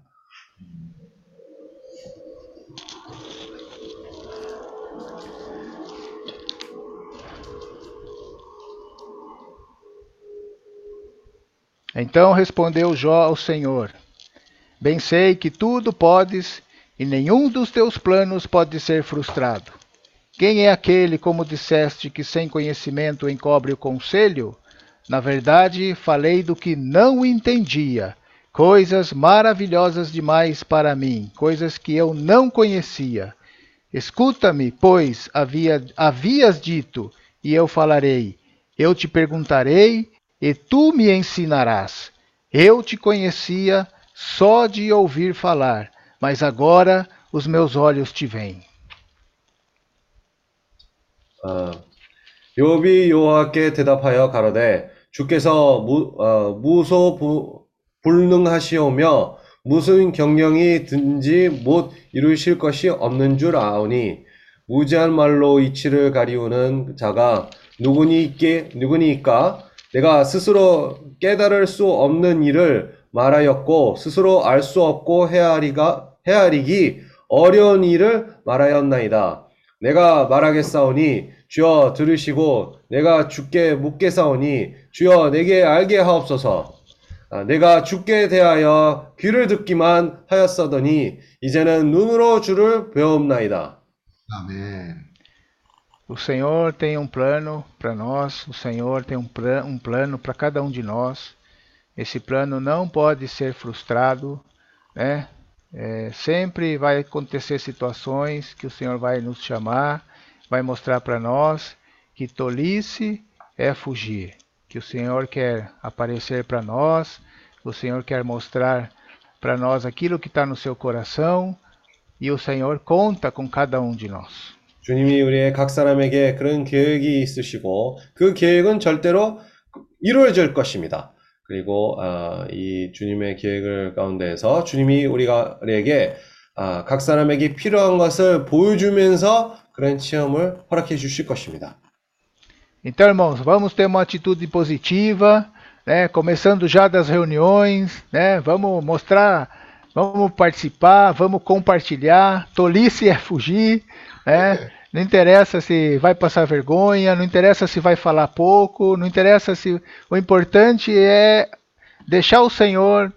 Então respondeu Jó ao Senhor: Bem sei que tudo podes e nenhum dos teus planos pode ser frustrado. Quem é aquele, como disseste, que sem conhecimento encobre o conselho? Na verdade, falei do que não entendia, coisas maravilhosas demais para mim, coisas que eu não conhecia. Escuta-me, pois havia, havias dito, e eu falarei. Eu te perguntarei, e tu me ensinarás. Eu te conhecia só de ouvir falar, mas agora os meus olhos te veem. 어, 욥이 여호와께 대답하여 가로되 주께서 무, 어, 무소 부, 불능하시오며 무슨 경영이 든지 못 이루실 것이 없는 줄 아오니 무지한 말로 이치를 가리우는 자가 누구니께 누구니까 내가 스스로 깨달을 수 없는 일을 말하였고 스스로 알 수 없고 헤아리가 헤아리기 어려운 일을 말하였나이다. 내가 말하겠사오니 주여 들으시고 내가 주께 묻겠사오니 주여 내게 알게 하옵소서. 아, 내가 주께 대하여 귀를 듣기만 하였사더니 이제는 눈으로 주를 배옵나이다. Amém. O Senhor tem um plano para nós, o Senhor tem um, plan, um plano para cada um de nós. Esse plano não pode ser frustrado, né? É, sempre vai acontecer situações que o Senhor vai nos chamar, vai mostrar para nós que tolice é fugir, que o Senhor quer aparecer para nós, o Senhor quer mostrar para nós aquilo que está no seu coração e o Senhor conta com cada um de nós. 주님이 우리의 각 사람에게 그런 계획이 있으시고 그 계획은 절대로 이루어질 것입니다. 그리고 어, 이 주님의 계획을 가운데에서 주님이 우리가 우리에게 어, 각 사람에게 필요한 것을 보여주면서 그런 체험을 허락해 주실 것입니다. Então, irmãos, vamos ter uma atitude positiva, né? Começando já das reuniões, né? Vamos mostrar, vamos participar, vamos compartilhar. Tolice é fugir, né? Não interessa se vai passar vergonha, não interessa se vai falar pouco, não interessa se... O importante é deixar o Senhor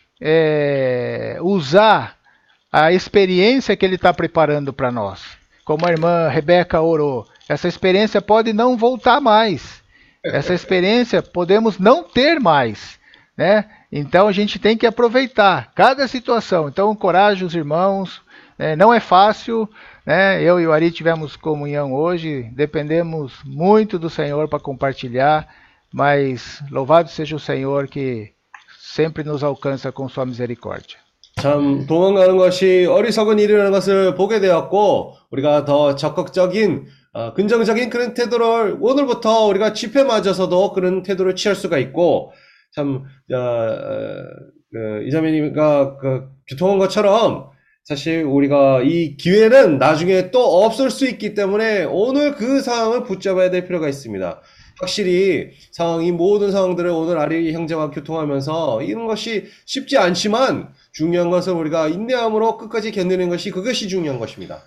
é, usar a experiência que Ele está preparando para nós. Como a irmã Rebeca orou, essa experiência pode não voltar mais. Essa experiência podemos não ter mais, né? Então a gente tem que aproveitar cada situação. Então encorajo os irmãos, né? Não é fácil, né? Eu e o Ari tivemos comunhão hoje, dependemos muito do Senhor para compartilhar, mas louvado seja o Senhor que sempre nos alcança com sua misericórdia. 참 도망가는 것이 어리석은 일이라는 것을 보게 되었고 우리가 더 적극적인 어, 긍정적인 그런 태도를 오늘부터 우리가 집회 맞아서도 그런 태도를 취할 수가 있고 참 어, 어, 그, 이자매님과 그 교통한 것처럼 사실 우리가 이 기회는 나중에 또 없을 수 있기 때문에 오늘 그 상황을 붙잡아야 될 필요가 있습니다. 확실히 상황이 모든 상황들을 오늘 아리 형제와 교통하면서 이런 것이 쉽지 않지만 중요한 것은 우리가 인내함으로 끝까지 견디는 것이 그것이 중요한 것입니다.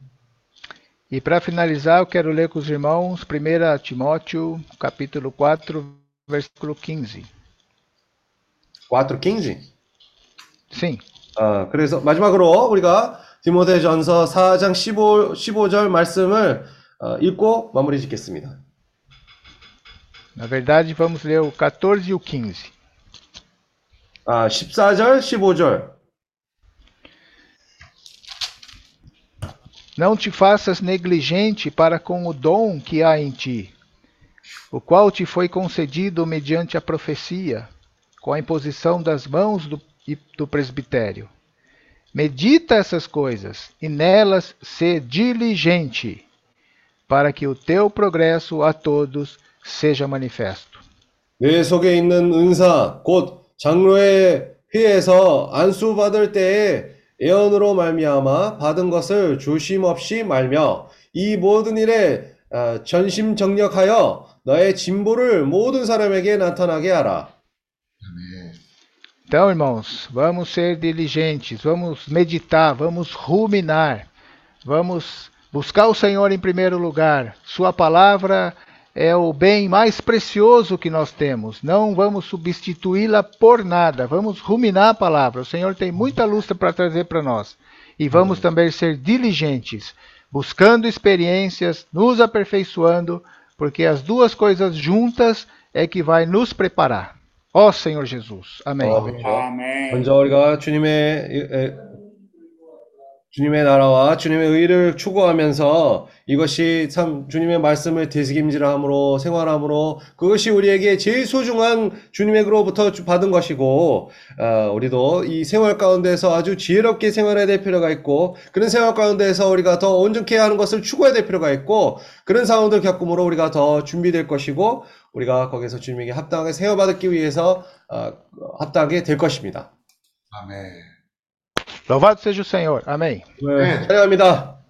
E para finalizar, eu quero ler com os irmãos primeira Timóteo, capítulo quatro, versículo quinze. quatro quinze? Sim. 아, 그래서 마지막으로 우리가 디모데전서 사 장 십오, 십오 절 말씀을 어, 읽고 마무리 짓겠습니다. Na verdade, vamos ler o quatorze e o quinze. 아, 십사 절, 십오 절. Não te faças negligente para com o dom que há em ti, o qual te foi concedido mediante a profecia, com a imposição das mãos do, do presbitério. Medita essas coisas, e nelas sê diligente, para que o teu progresso a todos seja manifesto. 내 속에 있는 은사, 곧 장로의 회에서 안수 받을 때에 예언으로 말미암아 받은 것을 조심 없이 말며 이 모든 일에 전심정력하여 너의 진보를 모든 사람에게 나타나게 하라. Então, irmãos, vamos ser diligentes, vamos meditar, vamos ruminar, vamos buscar o Senhor em primeiro lugar. Sua palavra é o bem mais precioso que nós temos. Não vamos substituí-la por nada. Vamos ruminar a palavra. O Senhor tem muita luz para trazer para nós. E vamos também ser diligentes, buscando experiências, nos aperfeiçoando, porque as duas coisas juntas é que vai nos preparar. Ó Senhor Jesus. Amém. 아멘. 먼저 우리가 주님의 에, 주님의 나라와 주님의 의를 추구하면서 이것이 참 주님의 말씀을 되새김질함으로 생활함으로 그것이 우리에게 제일 소중한 주님에게로부터 받은 것이고 어, 우리도 이 생활 가운데서 아주 지혜롭게 생활해야 될 필요가 있고 그런 생활 가운데서 우리가 더 온전케 하는 것을 추구해야 될 필요가 있고 그런 상황들 겪음으로 우리가 더 준비될 것이고 우리가 거기서 주님에게 합당하게 세워받기 위해서 어, 합당하게 될 것입니다. 아멘. Louvado seja o Senhor. Amém. 네, 찬양합니다.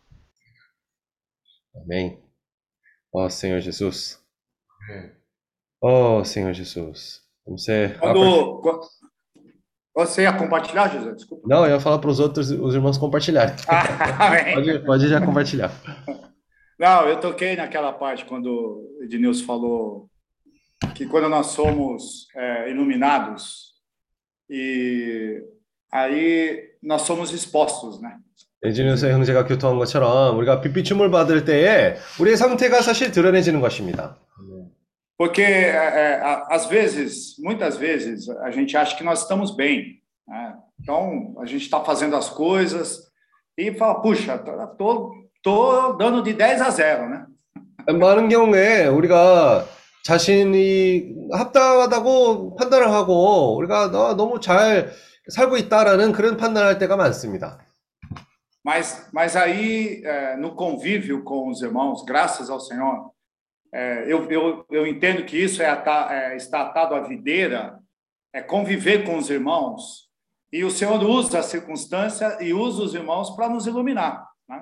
Amém. Ó Senhor Jesus. Ó Senhor Jesus. Você... Quando, quando- Você ia compartilhar, José? Desculpa. Não, eu ia falar para os outros, os irmãos compartilharem. Amém. Pode, pode já compartilhar. Não, eu toquei naquela parte quando o Ednilson falou que quando nós somos é, iluminados e aí nós somos expostos, né? 에지니우스 형제가 교통한 것처럼 우리가 빛비춤을 받을 때에 우리의 상태가 사실 드러내지는 것입니다. Porque é, é, a- às vezes, muitas vezes, a gente acha que nós estamos bem, né? Então a gente está fazendo as coisas e fala, puxa, tô, tô, tô dando de dez a zero, né? 많은 경우에 우리가 자신이 합당하다고 판단을 하고 우리가 너- 너무 잘 살고 있다라는 그런 판단을 할 때가 많습니다. Mas, mas aí, é, no convívio com os irmãos, graças ao Senhor, é, eu, eu, eu entendo que isso é, ata, é está atado à videira, é conviver com os irmãos, e o Senhor usa a circunstância e usa os irmãos para nos iluminar, né?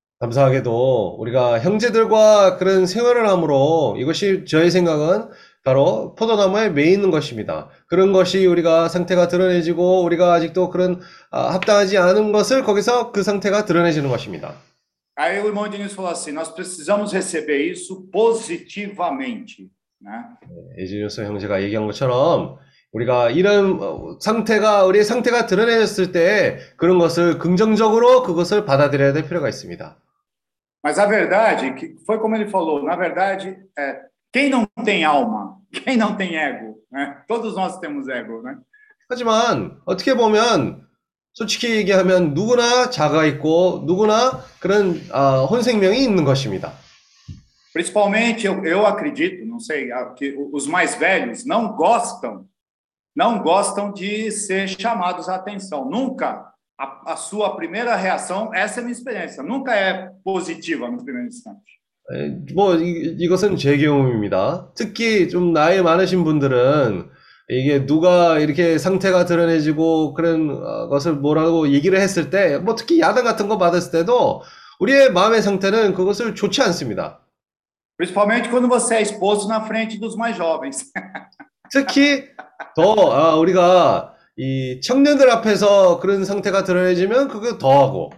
감사하게도 우리가 형제들과 그런 생활을 함으로 이것이 저의 생각은 바로 포도나무에 매이는 것입니다. 그런 것이 우리가 상태가 드러내지고 우리가 아직도 그런 아, 합당하지 않은 것을 거기서 그 상태가 드러내지는 것입니다. Aí o irmão Diniz falou assim, nós precisamos receber isso positivamente, né? 에지니우스 형제가 얘기한 것처럼 우리가 이런 어, 상태가 우리의 상태가 드러내졌을 때 그런 것을 긍정적으로 그것을 받아들여야 될 필요가 있습니다. Mas a verdade, que foi como ele falou, na verdade, é, quem não tem alma, quem não tem ego, né? Todos nós temos ego, né? 하지만 어떻게 보면 솔직히 얘기하면 누구나 자가 있고 누구나 그런 아, 혼생명이 있는 것입니다. Principalmente, eu, eu acredito, não sei, a- que os mais velhos não gostam, não gostam de ser chamados à atenção. Nunca a, a sua primeira reação, essa é a minha experiência, nunca é positiva no primeiro instante. 에, 뭐 이, 이것은 제 경험입니다. 특히 좀 나이 많으신 분들은 이게 누가 이렇게 상태가 드러내지고 그런 어, 것을 뭐라고 얘기를 했을 때, 뭐 특히 야단 같은 거 받았을 때도 우리의 마음의 상태는 그것을 좋지 않습니다. Principalmente quando você é exposto na frente dos mais jovens. 특히 더 아, 우리가 이 청년들 앞에서 그런 상태가 드러내지면 그거 더하고.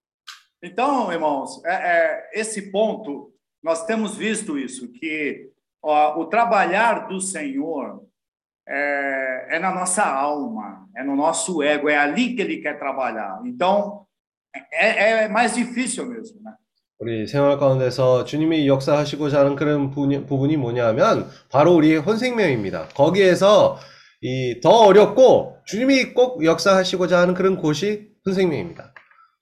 Então, irmãos, é, é, esse ponto, nós temos visto isso, que ó, o trabalhar do Senhor é, é na nossa alma, é no nosso ego, é ali que Ele quer trabalhar. Então, é, é mais difícil mesmo, né? 우리 생활 가운데서 주님이 역사하시고자 하는 그런 부분이, 부분이 뭐냐면 바로 우리의 혼생명입니다. 거기에서 이 더 어렵고 주님이 꼭 역사하시고자 하는 그런 곳이 혼생명입니다.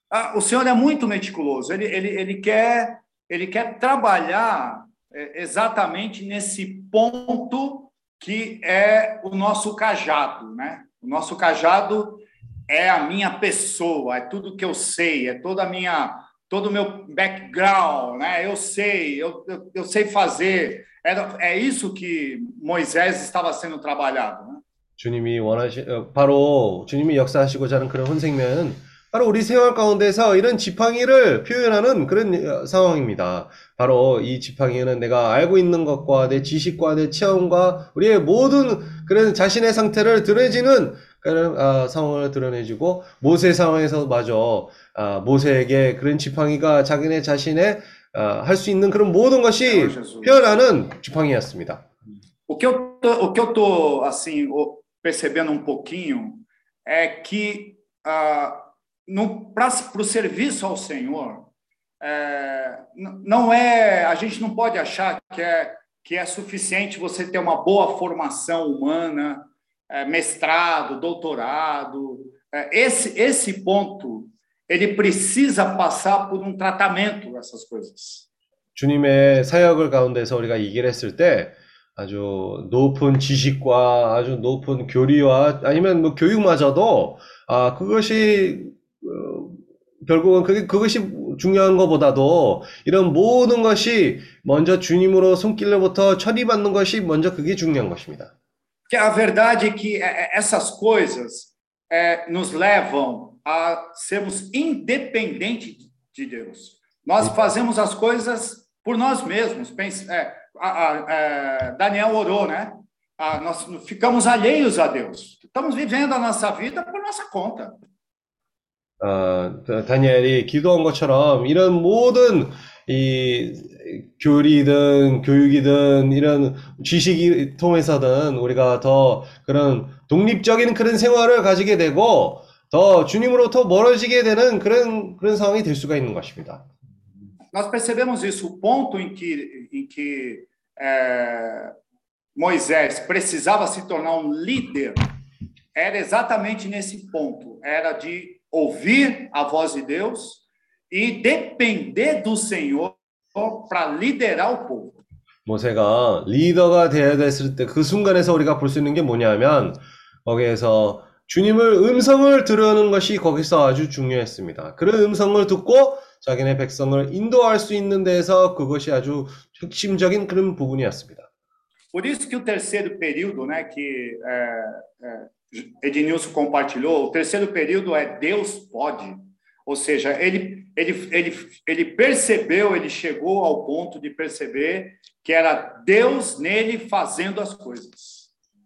Ah, o Senhor é muito meticuloso. Ele, ele, ele, quer, ele quer trabalhar é, exatamente nesse ponto que é o nosso cajado, né? O nosso cajado é a minha pessoa, é tudo que eu sei, é toda a minha, todo o meu background, né? Eu sei, eu, eu, eu sei fazer. É, é isso que Moisés estava sendo trabalhado, né? 주님이 원하시, 어, 바로 주님이 역사하시고자 하는 그런 혼생매는 바로 우리 생활 가운데서 이런 지팡이를 표현하는 그런 어, 상황입니다. 바로 이 지팡이는 내가 알고 있는 것과 내 지식과 내 체험과 우리의 모든 그런 자신의 상태를 드러내지는 그런 어, 상황을 드러내주고 모세 상황에서 마저 어, 모세에게 그런 지팡이가 자기네 자신의 어, 할 수 있는 그런 모든 것이 표현하는 지팡이였습니다. O que eu tô, o que eu tô assim percebendo um pouquinho é que ah, para o serviço ao Senhor é, não é, a gente não pode achar que é que é suficiente você ter uma boa formação humana, é, mestrado, doutorado. É, esse esse ponto ele precisa passar por um tratamento dessas coisas. 주님의 사역을 가운데서 우리가 이 길을 했을 때 아주 높은 지식과 아주 높은 교리와 아니면 뭐 교육마저도 아 그것이 어, 결국은 그게 그것이 중요한 것보다도 이런 모든 것이 먼저 주님으로 손길로부터 처리받는 것이 먼저 그게 중요한 것입니다. Que a verdade é que essas coisas é, nos levam a sermos independentes de Deus. Nós fazemos as coisas por nós mesmos. Pense, é, a, a, a, Daniel orou, né? A, nós ficamos alheios a Deus. Estamos vivendo a nossa vida por nossa conta. 어, 다니엘이 기도한 것처럼 이런 모든 이 교리든 교육이든 이런 지식이 통해서든 우리가 더 그런 독립적인 그런 생활을 가지게 되고 더 주님으로부터 멀어지게 되는 그런 그런 상황이 될 수가 있는 것입니다. Nós percebemos isso, o ponto em que, em que é, Moisés precisava se tornar um líder era exatamente nesse ponto, era de ouvir a voz de Deus e depender do Senhor para liderar o povo. 모세가 리더가 되어야 됐을 때 그 순간에서 우리가 볼 수 있는 게 뭐냐면 거기에서 주님을 음성을 들으는 것이 거기서 아주 중요했습니다. 그런 음성을 듣고 자기네 백성을 인도할 수 있는 데서 그것이 아주 핵심적인 그런 부분이었습니다. Por isso que o terceiro período, né, que é, é, Ednilson compartilhou, o terceiro período é Deus pode. Ou seja, ele, ele, ele, ele percebeu, ele chegou ao ponto de perceber que era Deus nele fazendo as coisas.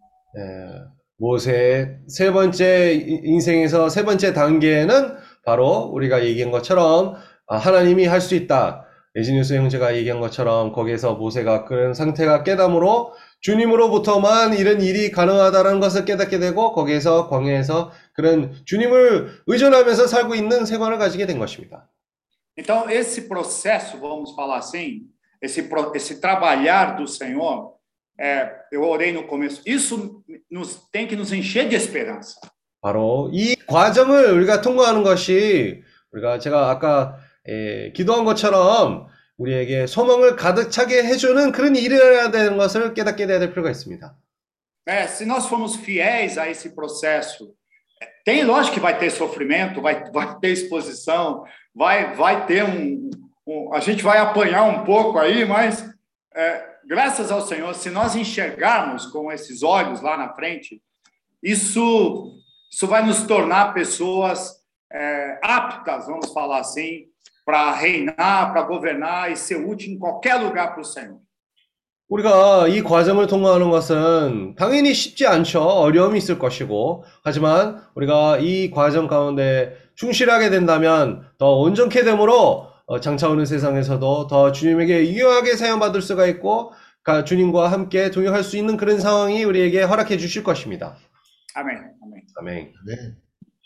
예, 모세의 세 번째 인생에서 세 번째 단계는 바로 우리가 얘기한 것처럼 하나님이 할 수 있다. 에지니우스 형제가 얘기한 것처럼 거기에서 모세가 그런 상태가 깨닫음으로 주님으로부터만 이런 일이 가능하다는 것을 깨닫게 되고 거기에서 광야에서 그런 주님을 의존하면서 살고 있는 생활을 가지게 된 것입니다. Então esse processo, vamos falar assim, esse esse trabalhar do Senhor, é, eu orei no começo. Isso nos tem que nos encher de esperança. 바로 이 과정을 우리가 통과하는 것이 우리가 제가 아까 에, 기도한 것처럼 우리에게 소망을 가득 차게 해주는 그런 일을 해야 되는 것을 깨닫게 돼야 될 필요가 있습니다. É, se nós formos fiéis a esse processo, tem lógico que vai ter sofrimento, vai, vai ter exposição, vai, vai ter um, um, a gente vai apanhar um pouco aí, mas é, graças ao Senhor, se nós enxergarmos com esses olhos lá na frente, isso, isso vai nos tornar pessoas é, aptas, vamos falar assim, para reinar, para governar e ser útil em qualquer lugar para o Senhor. 우리가 이 과정을 통과하는 것은 당연히 쉽지 않죠. 어려움이 있을 것이고 하지만 우리가 이 과정 가운데 충실하게 된다면 더 온전케 됨으로 장차 오는 세상에서도 더 주님에게 유용하게 사용받을 수가 있고 주님과 함께 동역할 수 있는 그런 상황이 우리에게 허락해 주실 것입니다. 아멘. 아멘. 아멘. Amém.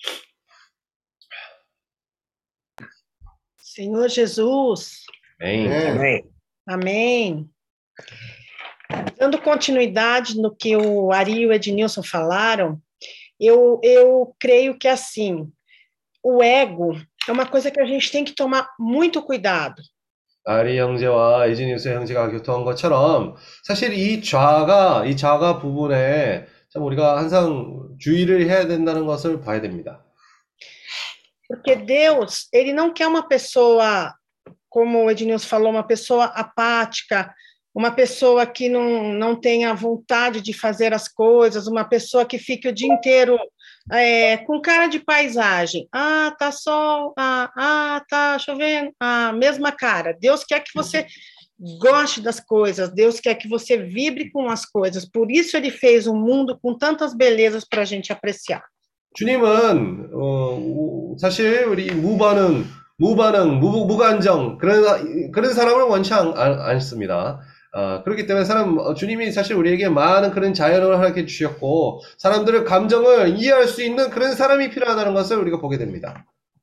Senhor Jesus. 아멘. Amém. Amém. Dando continuidade no que o Ari e o Ednilson falaram, eu, eu creio que assim, o ego, é uma coisa que a gente tem que tomar muito cuidado. 아리 형제와 에지니우스 형제가 교통한 것처럼 사실 이 좌가 이 좌가 부분에 참 우리가 항상 주의를 해야 된다는 것을 봐야 됩니다. Porque Deus, ele não quer uma pessoa, como o Ednilson falou, uma pessoa apática, uma pessoa que não, não tenha vontade de fazer as coisas, uma pessoa que fique o dia inteiro é, com cara de paisagem. Ah, tá sol, ah, ah, tá chovendo, ah, mesma cara. Deus quer que você goste das coisas, Deus quer que você vibre com as coisas. Por isso ele fez um mundo com tantas belezas para a gente apreciar. 주님은 어, 사실 우리 무반응, 무반응, 무, 무감정 그런 그런 사람을 원치 않, 않습니다. 어, 그렇기 때문에 사람 주님이 사실 우리에게 많은 그런 자연을 허락해 주셨고 사람들의 감정을 이해할 수 있는 그런 사람이 필요하다는 것을 우리가 보게 됩니다.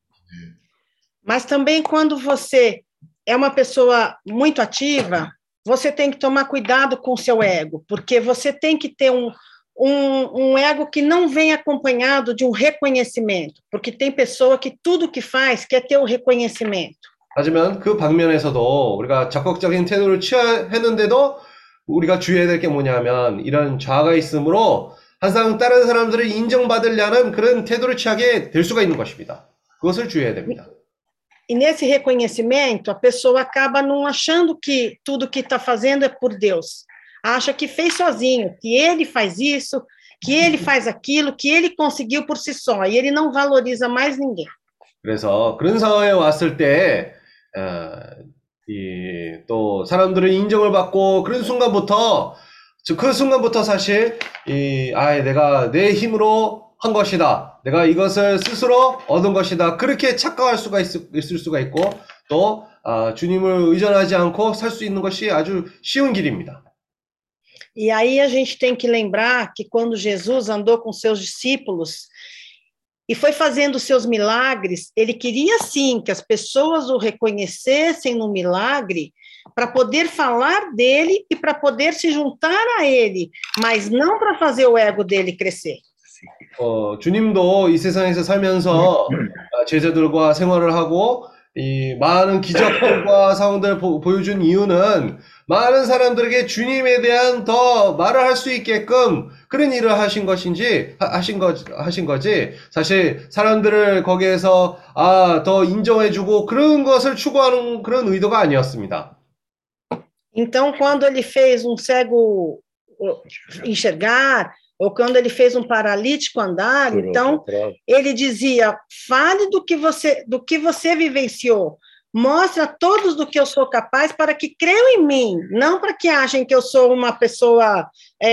Mas também quando você é uma pessoa muito ativa, você tem que tomar cuidado com o seu ego, porque você tem que ter um Um, um ego que não vem acompanhado de um reconhecimento, porque tem pessoa que tudo que faz quer ter o reconhecimento. 하지만 그 방면에서도 우리가 적극적인 태도를 취했는데도 우리가 주의해야 될 게 뭐냐면 이런 좌가 있으므로 항상 다른 사람들을 인정받으려는 그런 태도를 취하게 될 수가 있는 것입니다. 그것을 주의해야 됩니다. E nesse reconhecimento, a pessoa acaba não achando que tudo que está fazendo é por Deus. Acha que fez sozinho, que ele faz isso, que ele faz aquilo, que ele conseguiu por si só, e ele não valoriza mais ninguém. 그래서 그런 상황에 왔을 때, 어, 이, 또 사람들의 인정을 받고 그런 순간부터, 그 순간부터 사실 이, 아, 내가 내 힘으로 한 것이다, 내가 이것을 스스로 얻은 것이다, 그렇게 착각할 수가 있, 있을 수가 있고, 또 아, 주님을 의존하지 않고 살 수 있는 것이 아주 쉬운 길입니다. E aí a gente tem que lembrar que quando Jesus andou com seus discípulos e foi fazendo seus milagres, ele queria sim que as pessoas o reconhecessem no milagre para poder falar dele e para poder se juntar a ele, mas não para fazer o ego dele crescer. 어, 주님도 이 세상에서 살면서 제자들과 생활을 하고 이 많은 기적들과 상황들을 보, 보여준 이유는 많은 사람들에게 주님에 대한 더 말을 할 수 있게끔 그런 일을 하신 것인지 하신 거 하신 거지. 사실 사람들을 거기에서 아, 더 인정해주고 그런 것을 추구하는 그런 의도가 아니었습니다. Então, quando ele fez um cego enxergar, ou quando ele fez um paralítico andar, Por então outra prova. ele dizia: fale do que você do que você vivenciou. Mostra a todos do que eu sou capaz para que creiam em mim, não para que achem que eu sou uma pessoa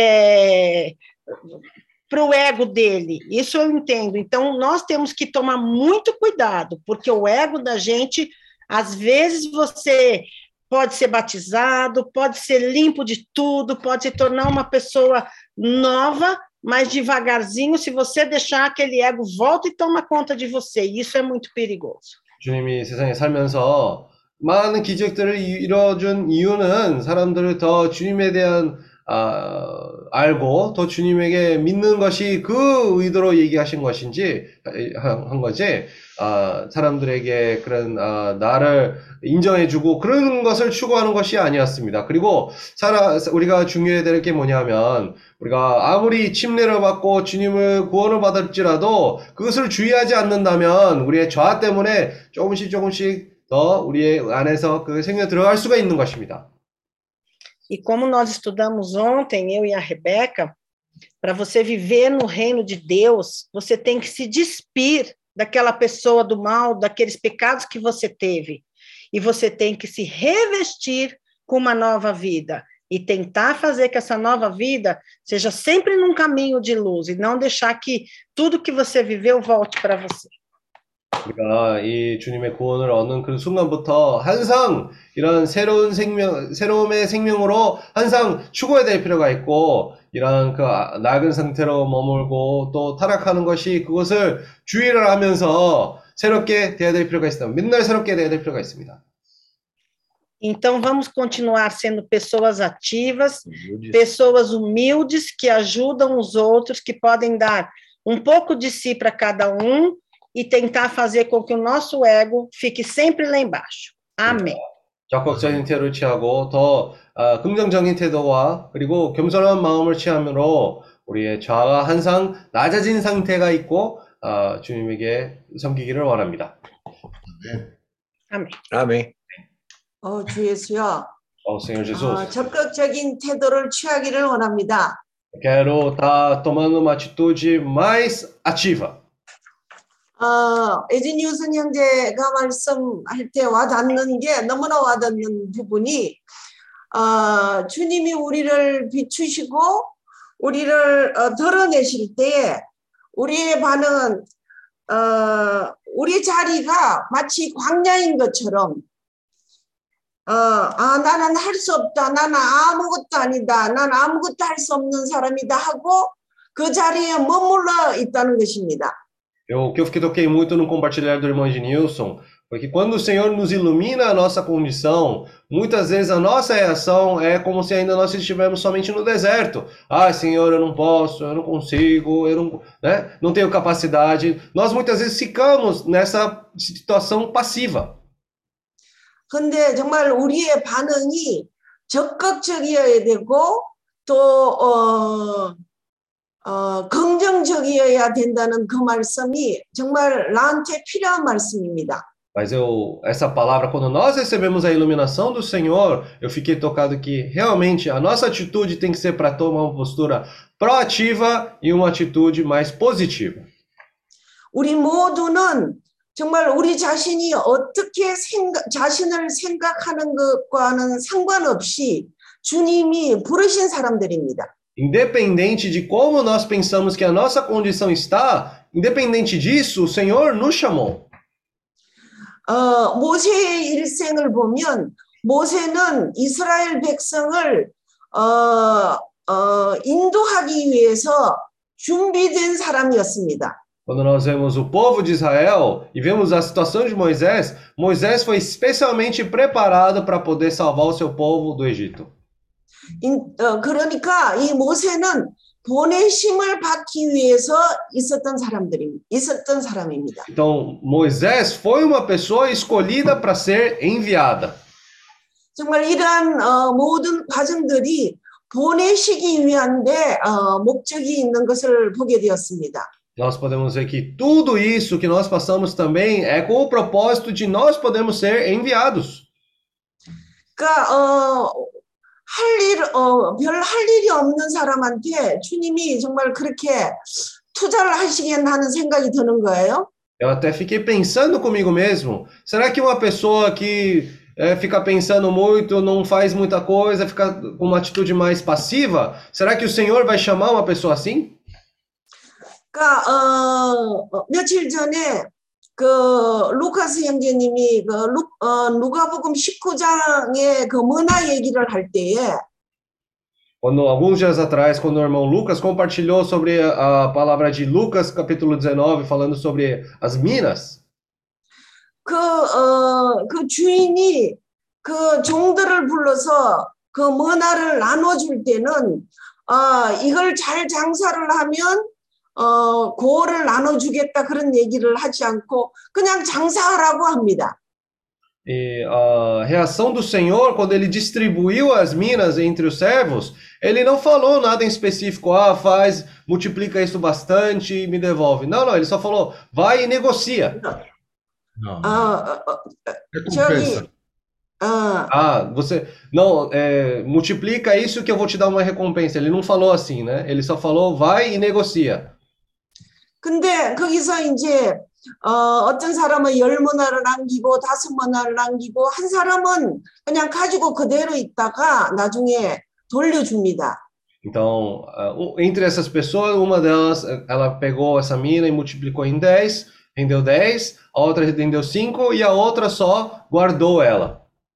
é, para o ego dele. Isso eu entendo. Então, nós temos que tomar muito cuidado, porque o ego da gente, às vezes você pode ser batizado, pode ser limpo de tudo, pode se tornar uma pessoa nova, mas devagarzinho, se você deixar aquele ego volta e toma conta de você. Isso é muito perigoso. 주님이 세상에 살면서 많은 기적들을 이뤄준 이유는 사람들을 더 주님에 대한 아, 알고 더 주님에게 믿는 것이 그 의도로 얘기하신 것인지 한 거지. 아, 사람들에게 그런 아, 나를 인정해주고 그런 것을 추구하는 것이 아니었습니다. 그리고 살아, 우리가 중요해야 될 게 뭐냐면 우리가 아무리 침례를 받고 주님을 구원을 받을지라도 그것을 주의하지 않는다면 우리의 좌 때문에 조금씩 조금씩 더 우리의 안에서 그 생명 들어갈 수가 있는 것입니다. E como nós estudamos ontem, eu e a Rebeca, para você viver no reino de Deus, você tem que se despir daquela pessoa do mal, daqueles pecados que você teve. E você tem que se revestir com uma nova vida. E tentar fazer que essa nova vida seja sempre num caminho de luz. E não deixar que tudo que você viveu volte para você. 우리가 이 주님의 구원을 얻는 그 순간부터 항상 이런 새로운 생명, 새로움의 생명으로 항상 추구해야 될 필요가 있고, 이런 그 낡은 상태로 머물고 또 타락하는 것이 그것을 주의를 하면서 새롭게 돼야 될 필요가 있습니다. 맨날 새롭게 돼야 될 필요가 있습니다. Então, vamos continuar sendo pessoas ativas, pessoas humildes que ajudam os outros, que podem dar um pouco de si para cada um, e tentar fazer com que o nosso ego fique sempre lá embaixo. Amém. 적극적인 태도를 취하고 더 어, 긍정적인 태도와 그리고 겸손한 마음을 취함으로 우리의 자아가 항상 낮아진 상태가 있고 어, 주님에게 섬기기를 원합니다. Amém. Amém. 어, 주 예수여, 어, Senhor Jesus, 어, 적극적인 태도를 취하기를 원합니다. quero estar tomando uma atitude mais ativa. 어, 에지니우슨 형제가 말씀할 때 와닿는 게 너무나 와닿는 부분이 어, 주님이 우리를 비추시고 우리를 어, 드러내실 때에 우리의 반응은 어, 우리 자리가 마치 광야인 것처럼 어, 아, 나는 할 수 없다. 나는 아무것도 아니다. 나는 아무것도 할 수 없는 사람이다 하고 그 자리에 머물러 있다는 것입니다. Eu, o que eu fiquei, toquei muito no compartilhar do irmão Ednilson foi que quando o Senhor nos ilumina a nossa condição, muitas vezes a nossa reação é como se ainda nós estivéssemos somente no deserto. Ah, Senhor, eu não posso, eu não consigo, eu não, né, não tenho capacidade. Nós muitas vezes ficamos nessa situação passiva. 근데 정말 우리의 반응이 적극적이어야 되고 또 어, 어, 긍정적이어야 된다는 그 말씀이 정말 나한테 필요한 말씀입니다. Mas eu, essa palavra, quando nós recebemos a iluminação do Senhor, eu fiquei tocado que realmente a nossa atitude tem que ser para tomar uma postura proativa e uma atitude mais positiva. 우리 모두는 정말 우리 자신이 어떻게 생각, 자신을 생각하는 것과는 상관없이 주님이 부르신 사람들입니다. Independente de como nós pensamos que a nossa condição está, independente disso, o Senhor nos chamou. 어, 모세의 일생을 보면 모세는 이스라엘 백성을 어, 어, 인도하기 위해서 준비된 사람이었습니다. Quando nós vemos o povo de Israel e vemos a situação de Moisés, Moisés foi especialmente preparado para poder salvar o seu povo do Egito. 인, 어, 그러니까 이 모세는 보내심을 받기 위해서 있었던 사람들이 있었던 사람입니다. Então, Moisés foi uma pessoa escolhida para ser enviada. 정말 이러한 어, 모든 과정들이 보내시기 위한데 어, 목적이 있는 것을 보게 되었습니다. Nós podemos ver que tudo isso que nós passamos também é com o propósito de nós podermos ser enviados. 그러니까 어, 할 일, 어, 별 할 일이 없는 사람한테 주님이 정말 그렇게 투자를 하시겠나 하는 생각이 드는 거예요. Eu até fiquei pensando comigo mesmo, será que uma pessoa que é, fica pensando muito, não faz muita coisa, fica com uma atitude mais passiva, será que o Senhor vai chamar uma pessoa assim? 그러니까 어, 어, 며칠 전에 그 루카스 형제님이 그 루, 어, 누가복음 십구 장의 그 문화 얘기를 할 때에 Quando alguns dias atrás, quando o irmão Lucas compartilhou sobre a, a palavra de Lucas, capítulo dezenove, falando sobre as minas, 그, 어, 그 주인이 그 종들을 불러서 그 문화를 나눠줄 때는 어, 이걸 잘 장사를 하면 어, 고를 나눠주겠다 그런 얘기를 하지 않고 그냥 장사하라고 합니다. e a reação do Senhor, quando ele distribuiu as minas entre os servos, ele não falou nada em específico, ah, faz, multiplica isso bastante e me devolve. Não, não, ele só falou, vai e negocia. Não. 어, 어, Recompensa. 어, Ah, você, não, é, multiplica isso que eu vou te dar uma recompensa. Ele não falou assim, né? Ele só falou, vai e negocia. 근데 거기서 이제 어, 어떤 사람은 열 문화를 남기고 다섯 문화를 남기고 한 사람은 그냥 가지고 그대로 있다가 나중에 돌려줍니다. Então, uh, entre essas pessoas, uma delas, ela pegou essa mina e multiplicou em dez, rendeu dez, a outra rendeu cinco e a outra só guardou ela.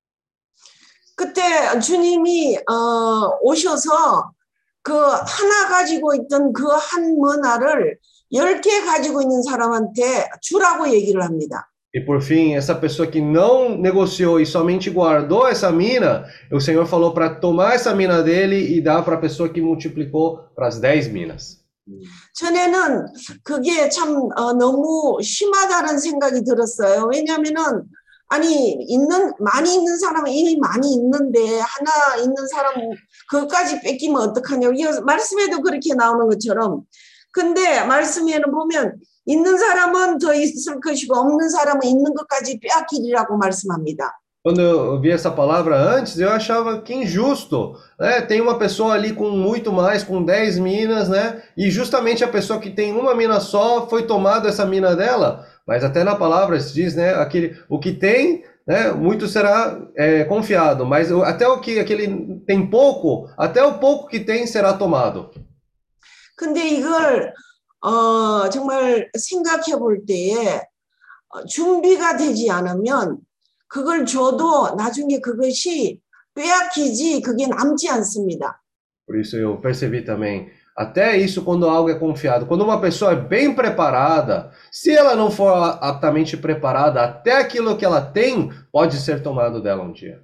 그때 주님이 어, 오셔서 그 하나 가지고 있던 그 한 문화를 열 개 가지고 있는 사람한테 주라고 얘기를 합니다. E por fim, essa pessoa que não negociou e somente guardou essa mina, o Senhor falou para tomar essa mina dele e dar para a pessoa que multiplicou para as dez minas. 전에는 그게 참 어, 너무 심하다는 생각이 들었어요. 왜냐하면은 아니 있는 많이 있는 사람은 이미 많이 있는데 하나 있는 사람 그것까지 뺏기면 어떡하냐고. 이 말씀에도 그렇게 나오는 것처럼. 근데 말씀에는 bo면 있는 사람은 더 있을 것이고 없는 사람은 있는 것까지 빼앗기리라고 말씀합니다. Quando eu vi essa palavra antes, eu achava que injusto, né? Tem uma pessoa ali com muito mais, com dez minas, né? E justamente a pessoa que tem uma mina só foi tomada essa mina dela. Mas até na palavra se diz, né? Aquele, o que tem, né? Muito será é, confiado. Mas o- até o que aquele tem pouco, até o pouco que tem será tomado. 근데 이걸 어, 정말 생각해 볼 때에 어, 준비가 되지 않으면 그걸 줘도 나중에 그것이 빼앗기지 그게 남지 않습니다. Por isso eu percebi também. Até isso quando algo é confiado. Quando uma pessoa é bem preparada, se ela não for a- aptamente preparada, até aquilo que ela tem pode ser tomado dela um dia.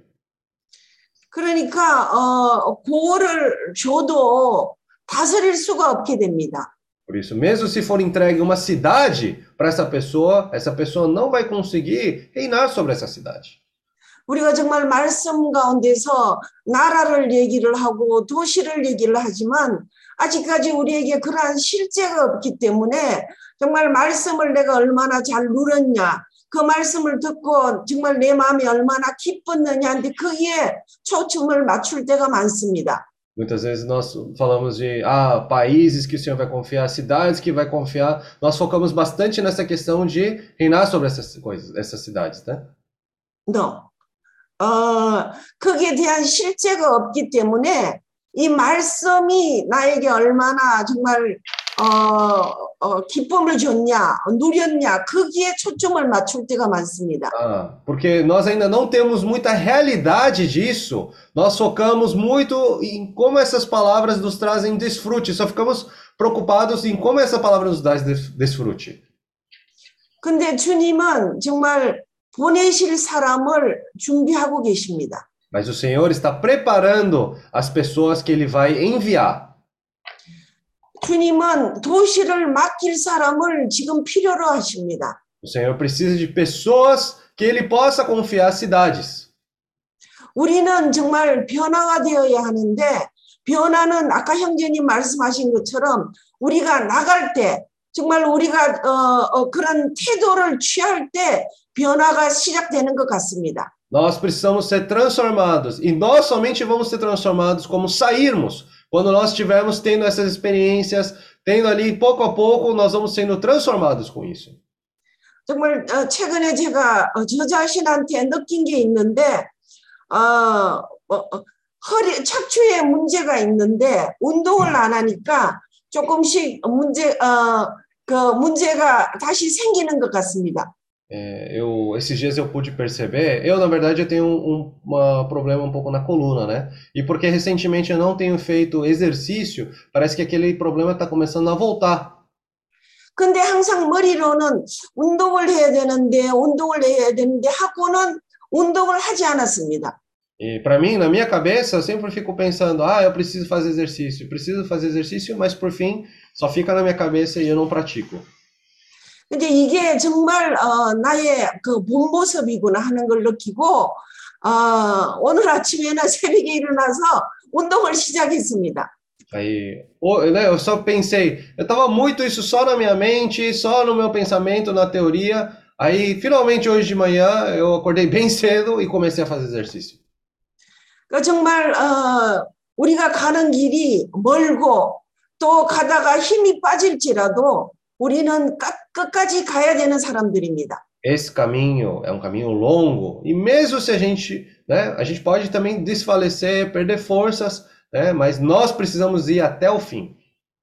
그러니까 어, 그거를 줘도 다스릴 수가 없게 됩니다. Por isso, mesmo se for entregue uma cidade para essa pessoa, essa pessoa não vai conseguir reinar sobre essa cidade. 우리가 정말 말씀 가운데서 나라를 얘기를 하고 도시를 얘기를 하지만 아직까지 우리에게 그러한 실제가 없기 때문에 정말 말씀을 내가 얼마나 잘 누렸냐, 그 말씀을 듣고 정말 내 마음이 얼마나 기뻤느냐인데 거기에 초점을 맞출 때가 많습니다. Muitas vezes nós falamos de ah, países que o Senhor vai confiar, cidades que vai confiar. Nós focamos bastante nessa questão de reinar sobre essas coisas, essas cidades, né? No. 어, 거기에 대한 실제가 없기 때문에 이 말씀이 나에게 얼마나 정말 어, 어, 기쁨을 줬냐, 누렸냐, 거기에 초점을 맞출 때가 많습니다. Ah, porque nós ainda não temos muita realidade disso. Nós focamos muito em como essas palavras nos trazem desfrute. Só ficamos preocupados em como essa palavra nos dá des- desfrute. 근데 주님은 정말 보내실 사람을 준비하고 계십니다. Mas o Senhor está preparando as pessoas que Ele vai enviar. 주님은 도시를 맡길 사람을 지금 필요로 하십니다. O Senhor precisa de pessoas que Ele possa confiar cidades. 우리는 정말 변화가 되어야 하는데 변화는 아까 형제님 말씀하신 것처럼 우리가 나갈 때 정말 우리가 어, 어, 그런 태도를 취할 때 변화가 시작되는 것 같습니다. Nós precisamos ser transformados. E nós somente vamos ser transformados como sairmos. Quando nós estivermos tendo essas experiências, tendo ali pouco a pouco, nós vamos sendo transformados com isso. 정말 어, 최근에 제가 어, 저 자신한테 느낀 게 있는데 어, 어, 어, 허리 척추에 문제가 있는데 운동을 안 하니까 조금씩 문제 어, 그 문제가 다시 생기는 것 같습니다. É, eu, esses dias eu pude perceber, eu na verdade eu tenho um uma problema um pouco na coluna, né? E porque recentemente eu não tenho feito exercício, parece que aquele problema está começando a voltar. 근데 항상 머리로는 운동을 해야 되는데 운동을 해야 되는데 하고는 운동을 하지 않았습니다. E para mim, na minha cabeça, eu sempre fico pensando, ah, eu preciso fazer exercício, preciso fazer exercício, mas por fim, só fica na minha cabeça e eu não pratico. 근데 이게 정말 어, 나의 그 본 모습이구나 하는 걸 느끼고 어, 오늘 아침에는 새벽에 일어나서 운동을 시작했습니다. Aí, o- né, eu só pensei, eu tava muito isso só na minha mente, só no meu pensamento, na teoria. Aí, finalmente hoje de manhã, eu acordei bem cedo e comecei a fazer exercício. 그 정말 어, 우리가 가는 길이 멀고 또 가다가 힘이 빠질지라도 우리는 끝, 끝까지 가야 되는 사람들입니다. Esse caminho é um caminho longo e mesmo se a gente, né, a gente pode também desfalecer, perder forças, né, mas nós precisamos ir até o fim.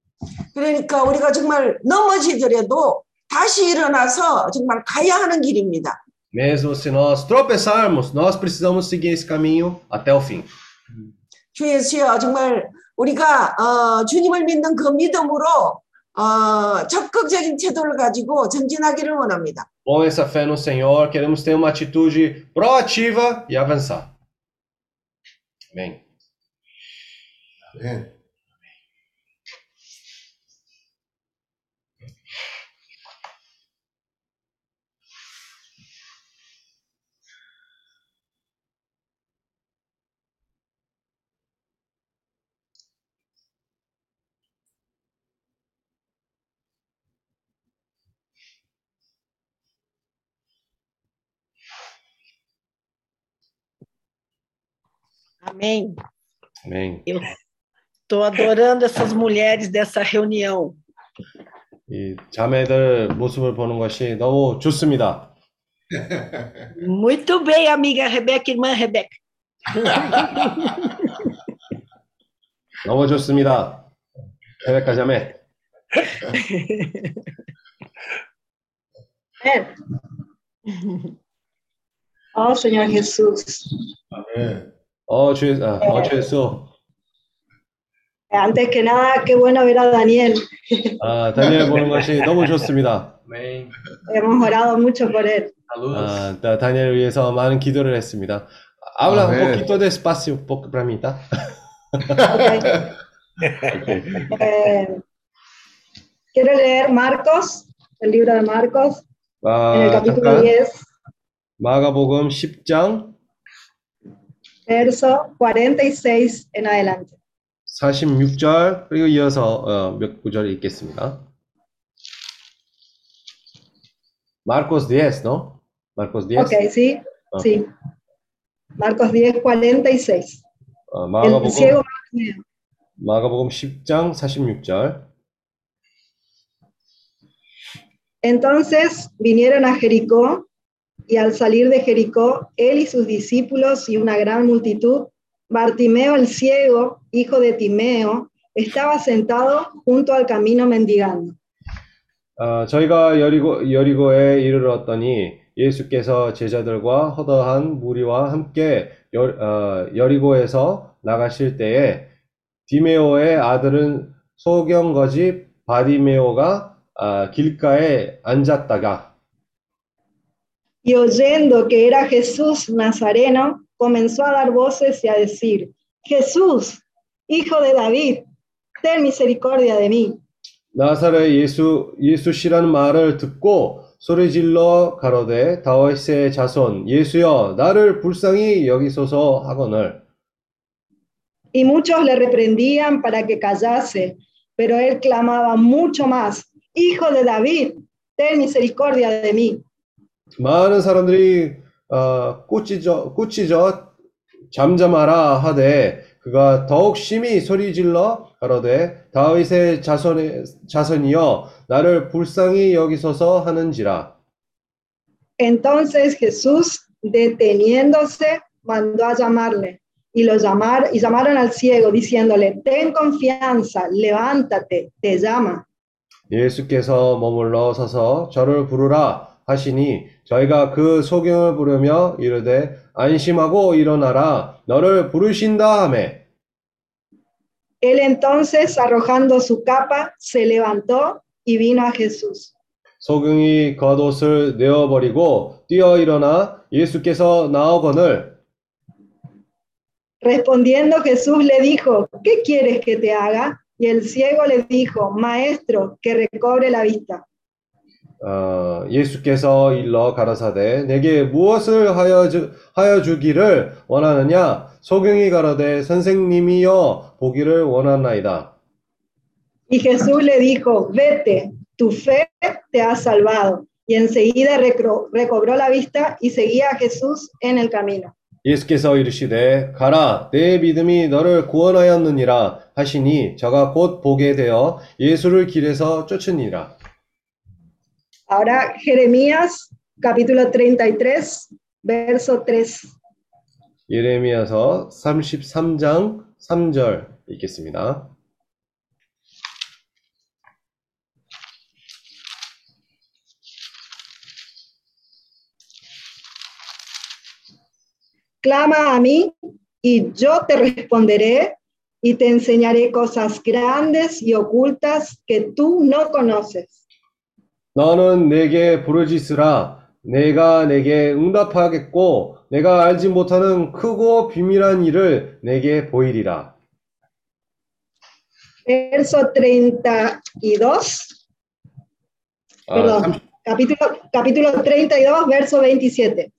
그러니까 우리가 정말 넘어지더라도 다시 일어나서 정말 가야 하는 길입니다. Mesmo se nós tropeçarmos, nós precisamos seguir esse caminho até o fim. 주 예수여 정말 우리가 어, 주님을 믿는 그 믿음으로 어, 적극적인 태도를 가지고 전진하기를 원합니다. Com essa fé no Senhor, queremos ter uma atitude proativa e avançar. Amém. 네. Amém. 아멘. Eu estou adorando essas mulheres dessa reunião. 이 자매들 모습을 보는 것이 너무 좋습니다. Muito bem, amiga Rebeca, irmã Rebeca. 너무 좋습니다. 레베카 자매. Oh, Señor Jesús. 어, 주, 아, 어, 주 예수. Antes que nada, qué bueno ver a Daniel. 아, 다니엘 보는 것이 너무 좋습니다. Amém. Hemos orado mucho por él. Saludos. 아, 다- 다니엘을 위해서 많은 기도를 했습니다. Habla un 아멘. poquito despacio un poco para mí, ¿tá? Eh, quiero leer Marcos, el libro de Marcos, en el 아, capítulo 잠깐. diez, 마가복음 십 장 verso cuarenta y seis en adelante. 사십육 절 그리고 이어서 어, 몇 구절 읽겠습니다. Marcos diez, ¿no? Marcos diez. Ok, sí, Ah. sí. Marcos diez, cuarenta y seis. 어, El 마가복음 ciego Bartimeo. 마가복음 십 장 사십육 절. Entonces vinieron a Jericó, y al salir de Jericó, él y sus discípulos y una gran multitud, Bartimeo el ciego, hijo de Timeo, estaba sentado junto al camino mendigando. 어, 저희가 여리고, 여리고에 이르렀더니 예수께서 제자들과 허다한 무리와 함께 여, 어, 여리고에서 나가실 때에 디메오의 아들은 소경거지 바디메오가 아, 길가에 앉았다가 Y oyendo que era Jesús Nazareno, comenzó a dar voces y a decir, Jesús, hijo de David, ten misericordia de mí. 나사렛 예수 예수시라는 말을 듣고 소리질러 가로되 다윗의 자손 예수여 나를 불쌍히 여기소서 하거늘 Y muchos le reprendían para que callase, pero él clamaba mucho más, Hijo de David, ten misericordia de mí. 많은 사람들이 어, 꾸짖어 꾸짖어 잠잠하라 하되 그가 더욱 심히 소리질러 가로되 다윗의 자손의 자손이여 나를 불쌍히 여기소서 하는지라. Entonces Jesús, deteniéndose, mandó a llamarle, y lo llamar, y llamaron al ciego, diciéndole, ten confianza, levántate, te llama. 예수께서 머물러 서서 저를 부르라 하시니 저희가 그 소경을 부르며 이르되 안심하고 일어나라 너를 부르신다 하매 Él entonces, arrojando su capa, se levantó y vino a Jesús. 소경이 겉옷을 내어버리고 뛰어 일어나 예수께서 나오거늘 Respondiendo Jesús le dijo, ¿qué quieres que te haga? Y el ciego le dijo, Maestro, que recobre la vista. 어, 예수께서 일러 가라사대 내게 무엇을 하여, 주, 하여 주기를 원하느냐 소경이 가로되 선생님이여 보기를 원하나이다. Y Jesús le dijo, vete, tu fe te ha salvado. Y enseguida recro, recobró la vista y seguía a Jesús en el camino. 예수께서 이르시되 가라 내 믿음이 너를 구원하였느니라 하시니 저가 곧 보게 되어 예수를 길에서 쫓으니라. Ahora Jeremías capítulo treinta y tres, verso tres. 예레미야서 삼십삼 장 삼 절 읽겠습니다. Clama a mí y yo te responderé y te enseñaré cosas grandes y ocultas que tú no conoces. 너는 내게 부르짖으라 내가 내게 응답하겠고 내가 알지 못하는 크고 비밀한 일을 내게 보이리라. Verso treinta y dos, 아, perdón, 삼십, capítulo, capítulo treinta y dos, verso veintisiete.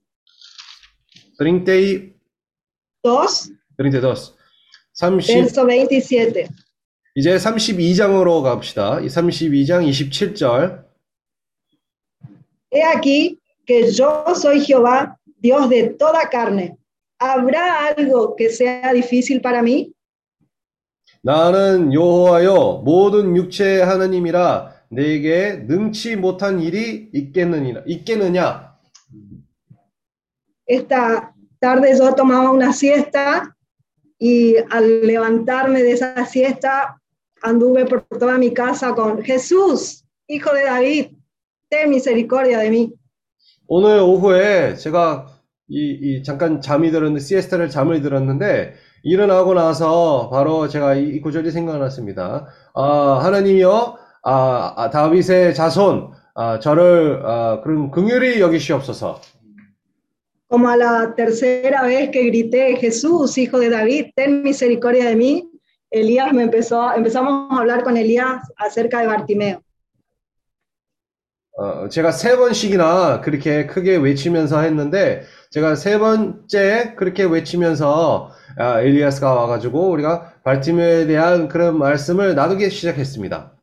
삼십이, dos, 삼십이, 삼십, verso veintisiete. 이제 삼십이 장으로 갑시다. 이 삼십이 장 이십칠 절. He aquí que yo soy Jehová, Dios de toda carne. ¿habrá algo que sea difícil para mí? 나는 여호와여 모든 육체의 하나님이라 내게 능치 못한 일이 있겠느냐 있겠느냐 Esta tarde yo tomaba una siesta y al levantarme de esa siesta anduve por toda mi casa con Jesús, hijo de David, ten misericordia de mí. 오늘 오후에 제가 이, 이 잠깐 잠이 들었는데 시에스타를 잠을 들었는데 일어나고 나서 바로 제가 이, 이 구절이 생각났습니다. 아, 하나님이여 아, 아, 다윗의 자손 아, 저를 아, 그런 긍휼히 여기시옵소서. Como a la tercera vez que grité, Jesús, hijo de David, ten misericordia de mí, Elías me empezó, empezamos a hablar con Elías acerca de Bartimeo. 어, 제가 세 번씩이나 그렇게 크게 외치면서 했는데 제가 세 번째 그렇게 외치면서 아, 엘리야스가 와가지고 우리가 발티메오에 대한 그런 말씀을 나누기 시작했습니다.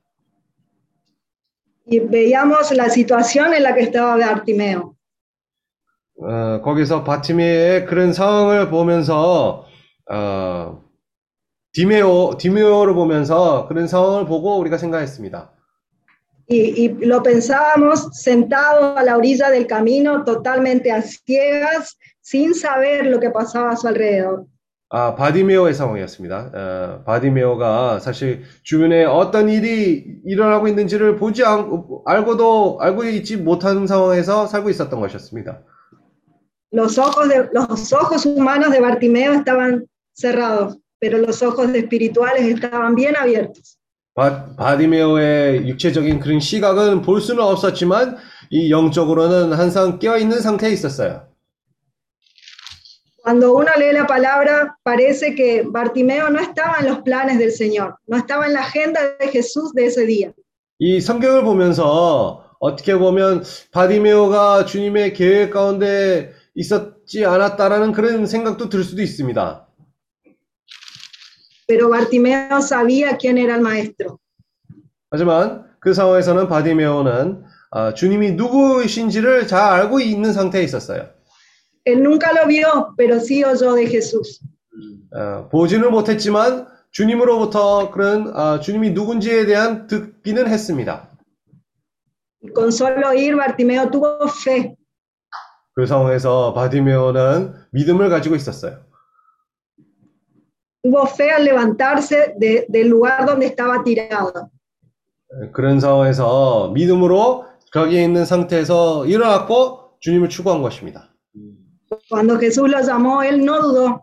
Y veíamos la situación en la que estaba Bartimeo. 어, 거기서 바티메오의 그런 상황을 보면서 어, 디메오, 디메오를 보면서 그런 상황을 보고 우리가 생각했습니다. Y, y lo pensábamos sentado a la orilla del camino, totalmente a ciegas, sin saber lo que pasaba a su alrededor. 아, 바디메오의 상황이었습니다. 어, 바디메오가 사실 주변에 어떤 일이 일어나고 있는지를 보지 않, 알고도 알고 있지 못하는 상황에서 살고 있었던 것이었습니다. Los ojos, de, los ojos humanos de Bartimeo estaban cerrados, pero los ojos espirituales estaban bien abiertos. 바, 바디메오의 육체적인 그런 시각은 볼 수는 없었지만 이 영적으로는 항상 깨어있는 상태에 있었어요. Cuando uno lee la palabra, parece que Bartimeo no estaba en los planes del Señor, no estaba en la agenda de Jesús de ese día. 이 성경을 보면서 어떻게 보면 바디메오가 주님의 계획 가운데 있었지 않았다라는 그런 생각도 들 수도 있습니다. Pero Bartimeo sabía quién era el maestro. 하지만 그 상황에서는 바디메오는 아, 주님이 누구이신지를 잘 알고 있는 상태에 있었어요. Él nunca lo vio, pero sí oyó de Jesús. 어, 보지는 못했지만 주님으로부터 그런 아, 주님이 누군지에 대한 듣기는 했습니다. Y con solo oír, Bartimeo tuvo fe. 그 상황에서 바디메오는 믿음을 가지고 있었어요. Tuvo fe al levantarse de, del lugar donde estaba tirado. 그런 상황에서 믿음으로 거기에 있는 상태에서 일어났고 주님을 추구한 것입니다. Cuando Jesús lo llamó, él no dudó.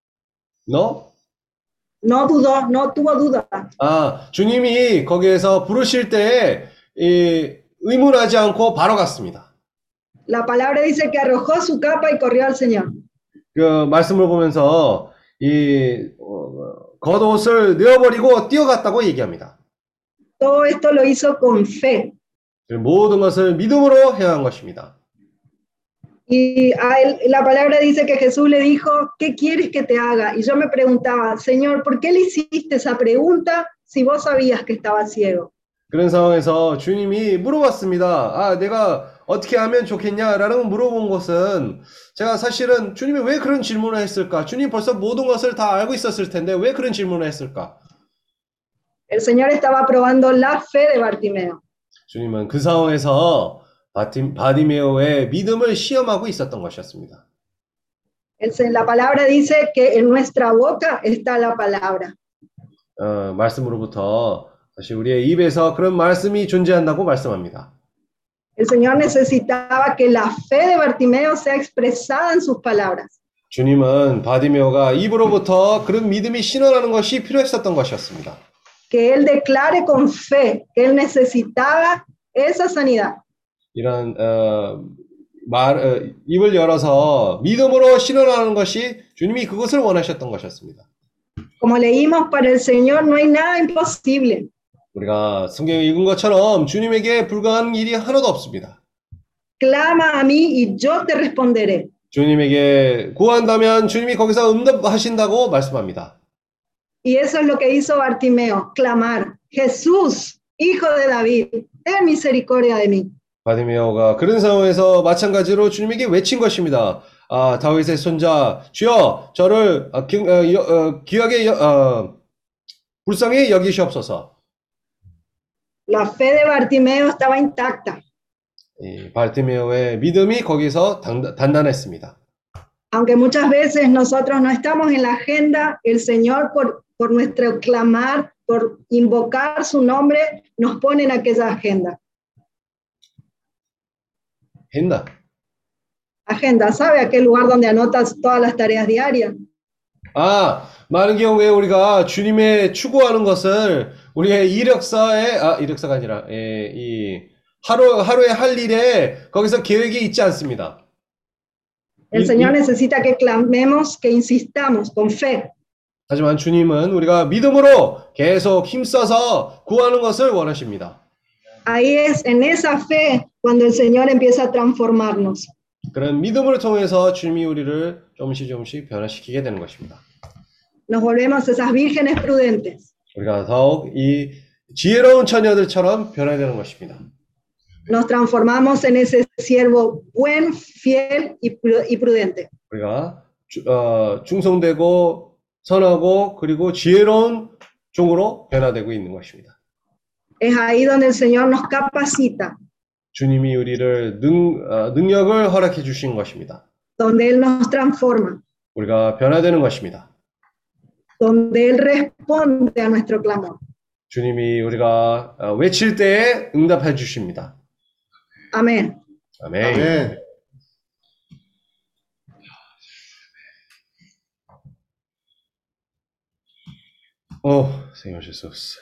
너? No dudó, no tuvo duda. 아, 주님이 거기에서 부르실 때 이, 의문하지 않고 바로 갔습니다. La palabra dice que arrojó su capa y corrió al Señor. 그 말씀을 보면서 이 어, 겉옷을 내어버리고 뛰어갔다고 얘기합니다. Todo esto lo hizo con fe. 모든 것을 믿음으로 행한 것입니다. Y a él, la palabra dice que Jesús le dijo, ¿qué quieres que te haga? Y yo me preguntaba, Señor, ¿por qué le hiciste esa pregunta si vos sabías que estaba ciego? 그런 상황에서 주님이 물어봤습니다. 아, 내가 어떻게 하면 좋겠냐라는 물어본 것은 제가 사실은 주님이 왜 그런 질문을 했을까? 주님 벌써 모든 것을 다 알고 있었을 텐데 왜 그런 질문을 했을까? El Señor estaba probando la fe de Bartimeo. 주님은 그 상황에서 바디, 바디메오의 믿음을 시험하고 있었던 것이었습니다. El, la palabra dice que en nuestra boca está la palabra. 어, 말씀으로부터 사실 우리의 입에서 그런 말씀이 존재한다고 말씀합니다. El Señor necesitaba que la fe de Bartimeo sea expresada en sus palabras. 주님은 바디메오가 입으로부터 그런 믿음이 신원하는 것이 필요했었던 것이었습니다. Que él declare con fe que él necesitaba esa sanidad. 이런 어, 말 어, 입을 열어서 믿음으로 신원하는 것이 주님이 그것을 원하셨던 것이었습니다. Como leímos, para el Señor no hay nada imposible. 우리가 성경을 읽은 것처럼 주님에게 불가한 일이 하나도 없습니다. Clama a mí y yo te responderé. 주님에게 구한다면 주님이 거기서 응답하신다고 말씀합니다. Y eso es lo que hizo Bartimeo, clamar, Jesús, hijo de David, ten misericordia de mí. 바디메오가 그런 상황에서 마찬가지로 주님에게 외친 것입니다. 아, 다윗의 손자, 주여, 저를 어, 기, 어, 여, 어, 귀하게 여, 어, 불쌍히 여기시옵소서. La fe de Bartimeo estaba intacta, 이 바르티메오의 믿음이 거기서 단, 단단했습니다. aunque muchas veces nosotros no estamos en la agenda, el Señor por, por nuestro clamar, por invocar su nombre, nos pone en aquella agenda. 했나? Agenda, ¿sabe? Aquel lugar donde anotas todas las tareas diarias. 아, 많은 경우에 우리가 주님의 추구하는 것을 우리의 이력서에, 아, 이력서가 아니라, 예, 이, 하루, 하루에 할 일에 거기서 계획이 있지 않습니다. El Señor necesita que clamemos, que insistamos con fe. 하지만 주님은 우리가 믿음으로 계속 힘써서 구하는 것을 원하십니다. Ahí es en esa fe cuando el Señor empieza a transformarnos. 그런 믿음을 통해서 주님이 우리를 조금씩 조금씩 변화시키게 되는 것입니다. Nos volvemos esas vírgenes prudentes. 우리가 더욱 이 지혜로운 처녀들처럼 변해야 되는 것입니다. Nos transformamos en ese siervo buen, fiel y, pru- y prudente. 우리가 주, 어, 충성되고 선하고 그리고 지혜로운 종으로 변화되고 있는 것입니다. Es ahí donde el Señor nos capacita, 주님이 우리를 능, 어, 능력을 허락해 주신 것입니다. donde Él nos transforma, 우리가 변화되는 것입니다. donde Él responde a nuestro clamor. 주님이 우리가 어, 외칠 때에 응답해 주십니다. Amén. 아멘. 아멘. Oh, Senhor Jesus.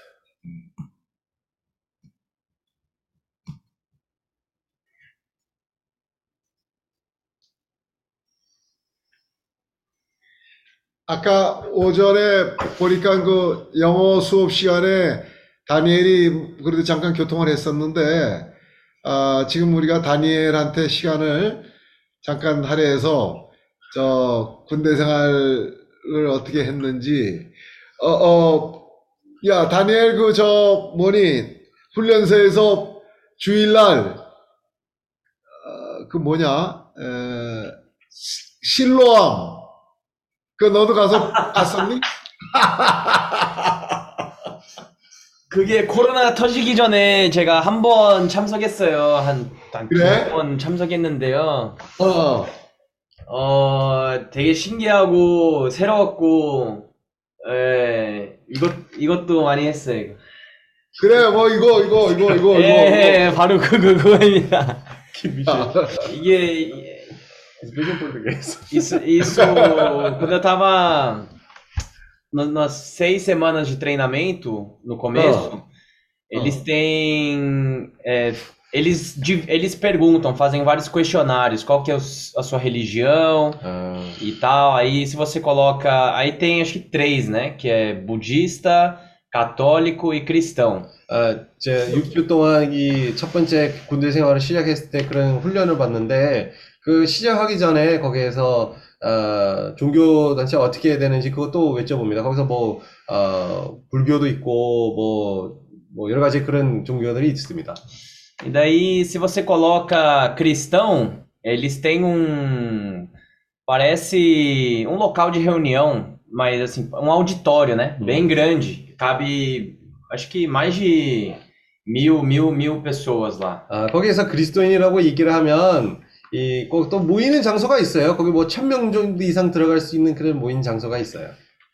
아까 오전에 보니까 그 영어 수업 시간에 다니엘이 그래도 잠깐 교통을 했었는데, 아, 지금 우리가 다니엘한테 시간을 잠깐 할애해서 저 군대 생활을 어떻게 했는지, 어, 어, 야, 다니엘 그 저 뭐니 훈련소에서 주일날 어, 그 뭐냐, 에, 실로암. 그 너도 가서 갔었니? 그게 코로나 터지기 전에 제가 한 번 참석했어요. 한 그래? 두 번 참석했는데요. 어. 어, 되게 신기하고 새로웠고, 예, 이것, 이것도 많이 했어요. 이거. 그래, 뭐 이거 이거 이거 이거 예, 이거. 예, 바로 그, 그, 그거입니다. 아, 이게, Explica em português. isso, isso, quando eu tava no- nas seis semanas de treinamento, no começo, eles têm, é, eles, di- eles perguntam, fazem vários questionários, qual que é o s- a sua religião 아, e tal. Aí se você coloca, aí tem acho que três, né? Que é budista, católico e cristão. 아, 제 육 주 동안 이 첫 번째 군대 생활을 시작했을 때 그런 훈련을 받는데 그 시작하기 전에 거기에서 어, 종교 단체 어떻게 해야 되는지 그것도 여쭤봅니다. 거기서 뭐 어, 불교도 있고 뭐, 뭐 여러 가지 그런 종교들이 있습니다. E daí, se você coloca cristão, eles têm um, parece um local de reunião, mas assim, um auditório, né? Bem grande. Cabe, acho que mais de mil, mil, mil pessoas lá. 아, 거기에서 그리스도인이라고 얘기를 하면 이 꼭 또 모이는 장소가 있어요. 거기 뭐 천 명 정도 이상 들어갈 수 있는 그런 모이는 장소가 있어요.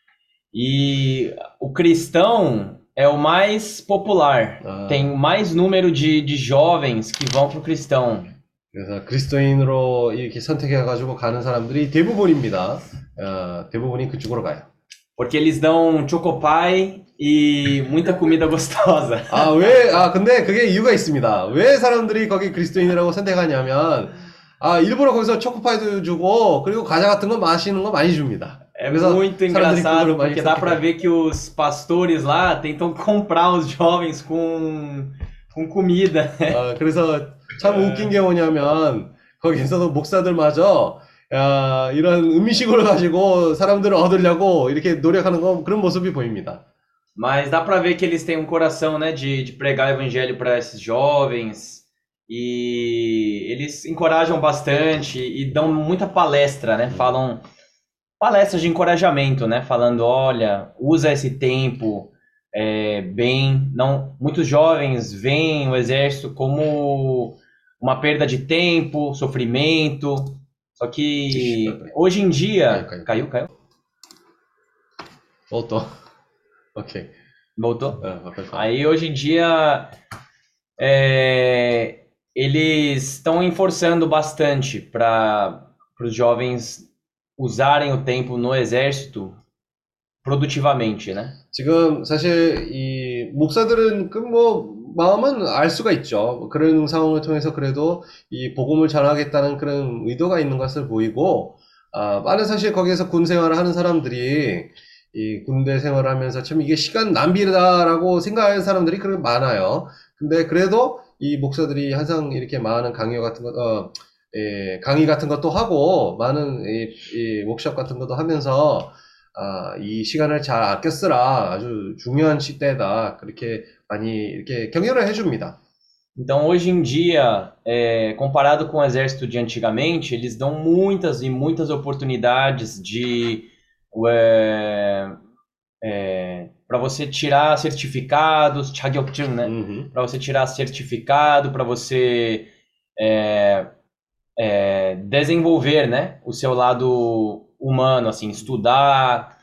E o cristão é o mais popular. 아, Tem mais número de, de jovens que vão pro cristão. 그래서 그리스도인으로 이렇게 선택해가지고 가는 사람들이 대부분입니다. 어, 대부분이 그쪽으로 가요. Porque eles dão chocopai e muita comida gostosa. 아, 왜, 아, 근데 그게 이유가 있습니다. 왜 사람들이 거기 그리스도인이라고 선택하냐면, 아, 일부러 거기서 초코파이도 주고, 그리고 과자 같은 거 맛있는 거 많이 줍니다. É 그래서 muito 사람들이 engraçado, 그거를 많이 porque dá pra 선택해요. ver que os pastores lá tentam comprar os jovens com, com comida. 어, 그래서 참 웃긴 게 뭐냐면, 거기에서도 목사들마저, 야, 이런 음식을 가지고 사람들을 얻으려고 이렇게 노력하는 거, 그런 모습이 보입니다. Mas dá pra ver que eles têm um coração, né, de, de pregar o evangelho para esses jovens. E eles encorajam bastante e dão muita palestra, né? Falam palestras de encorajamento, né? Falando, olha, usa esse tempo é, bem. Não, muitos jovens veem o exército como uma perda de tempo, sofrimento. Só que hoje em dia. Caiu, caiu. Caiu, caiu? Voltou. Ok. Voltou? Ah, pode falar. Aí hoje em dia é, eles estão enforçando bastante para os jovens usarem o tempo no exército produtivamente, né? 지금 사실 이 목사들은 그 뭐 마음은 알 수가 있죠. 그런 상황을 통해서 그래도 이 복음을 전하겠다는 그런 의도가 있는 것을 보이고, 아, 많은 사실 거기에서 군 생활을 하는 사람들이 이 군대 생활하면서 참 이게 시간 낭비다라고 생각하는 사람들이 그렇게 많아요. 근데 그래도 이 목사들이 항상 이렇게 많은 강요 같은 것, 어, 예, 강의 같은 것도 하고 많은 이, 이 워크숍 같은 것도 하면서 아, 이 시간을 잘 아껴 쓰라. 아주 중요한 시대다. 그렇게 많이 이렇게 격려를 해줍니다. Então, hoje em dia, é, comparado com o exército de antigamente, eles dão muitas e muitas oportunidades de é, é, para você tirar certificados, 자격증, né? Uhum. Para você tirar certificado, para você é, é, desenvolver, né, o seu lado humano, assim, estudar,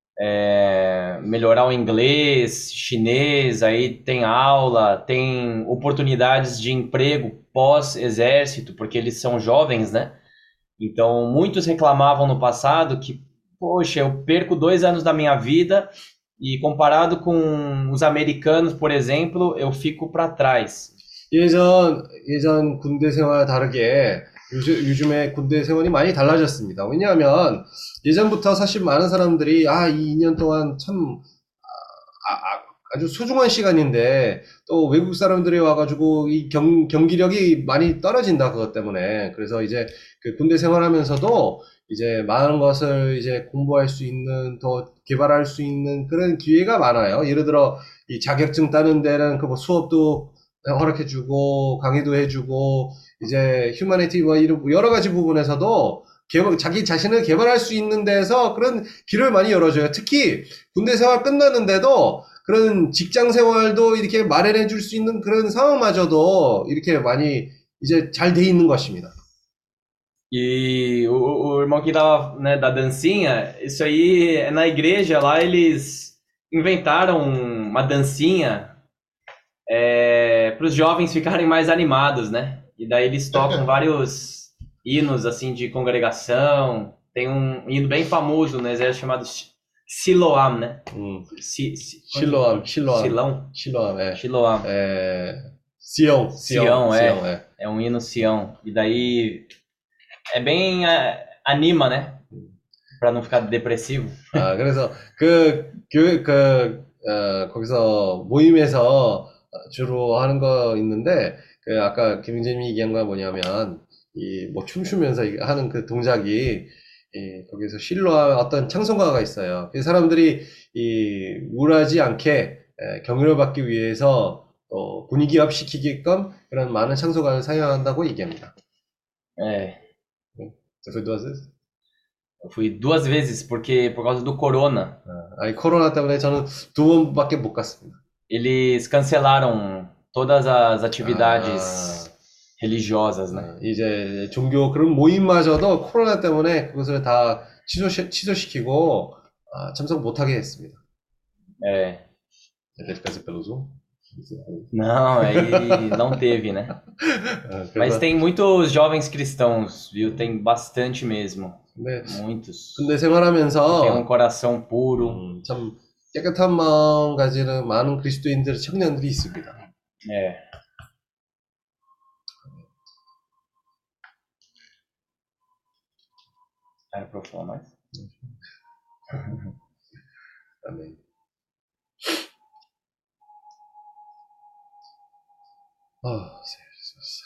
é, melhorar o inglês, chinês, aí tem aula, tem oportunidades de emprego pós-exército, porque eles são jovens, né? Então, muitos reclamavam no passado que, poxa, eu perco dois anos da minha vida e comparado com os americanos, por exemplo, eu fico para trás. 예전, 예전 군대 생활 다르게 요즘, 요즘에 군대 생활이 많이 달라졌습니다. 왜냐하면 예전부터 사실 많은 사람들이 아, 이 이 년 동안 참 아, 아, 아주 소중한 시간인데 또 외국 사람들이 와가지고 이 경, 경기력이 많이 떨어진다 그것 때문에. 그래서 이제 그 군대 생활하면서도 이제 많은 것을 이제 공부할 수 있는, 더 개발할 수 있는 그런 기회가 많아요. 예를 들어 이 자격증 따는 데는 그 뭐 수업도 허락해주고 강의도 해주고 이제 휴머니티와 이런 여러 가지 부분에서도 개발, 자기 자신을 개발할 수 있는 데서 그런 길을 많이 열어줘요. 특히 군대 생활 끝났는데도 그런 직장 생활도 이렇게 마련해 줄 수 있는 그런 상황마저도 이렇게 많이 이제 잘 돼 있는 것입니다. E o, o irmão que tava, né, da dancinha, isso aí é na igreja lá, eles inventaram uma dancinha é, para os jovens ficarem mais animados, né? E daí eles tocam vários hinos assim de congregação. Tem um hino bem famoso no exército chamado Siloam, né? 음, Si, si, 실로암, 실로암, Silão? 실로암, 예. Siloam. 에, 시온, Sião, 시온, é. 시온, 예. É um hino Sião. E daí é bem é, anima, né? Pra não ficar depressivo. 아, 그래서 그 교회 그 어, 거기서 모임에서 주로 하는 거 있는데 그 아까 김진님이 얘기한 건 뭐냐면 이 뭐 춤추면서 이- 하는 그 동작이 이 거기서 실로와 어떤 찬송가가 있어요. 그 사람들이 이 우울하지 않게 에, 격려를 받기 위해서 또 분위기 업시키게끔 그런 많은 찬송가를 사용한다고 얘기합니다. É. Você foi duas vezes? Eu fui duas vezes porque por causa do corona. 아, 아니 코로나 때문에 저는 두 번밖에 못 갔습니다. Eles cancelaram todas as atividades 아, religiosas, né? 어, 이제 종교 그런 모임마저도 코로나 때문에 그것을 다 취소, 취소시키고 아, 참석 못하게 했습니다. É. Teve que fazer pelo Zoom? Não, aí não teve, né? 아, Mas 그래서 tem muitos jovens cristãos, viu? Tem bastante mesmo. 근데, Muitos. 근데 Tem um 생활하면서 coração puro. 음, 참 깨끗한 마음 가지는 많은 그리스도인들 청년들이 있습니다. É. Era pra eu falar mais? 아멘. 아, Jesus.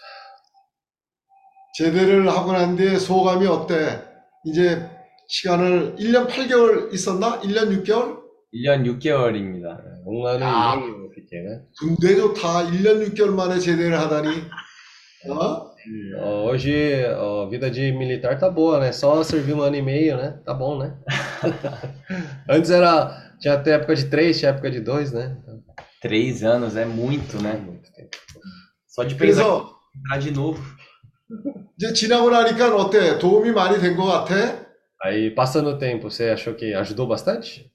제대를 하고 난 뒤에 소감이 어때? 이제 시간을 일 년 팔 개월 있었나? 일 년 육 개월? 일 년 육 개월입니다. 옥나는 야. 이행이 어떻게 군대 좋다. 일 년 육 개월 만에 제대를 하다니. Hã? Ó, hoje ó, a vida de militar tá boa, né? Só servir um ano e meio, né? Tá bom, né? Antes era. Tinha até época de três, tinha época de dois, né? Então, Três anos é muito, é né? muito tempo. Só de pensar 그래서 em entrar de novo. 이제 지나고 나니까 어때? 도움이 많이 된 것 같아? Aí, passando o tempo, você achou que ajudou bastante?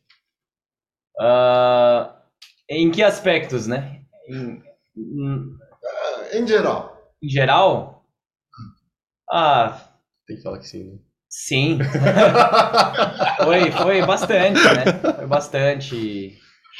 Ah, em que aspectos, né? Em, em- Em geral. em geral? Ah, Tem que falar que sim, né? sim. Foi, foi bastante, né? Foi bastante.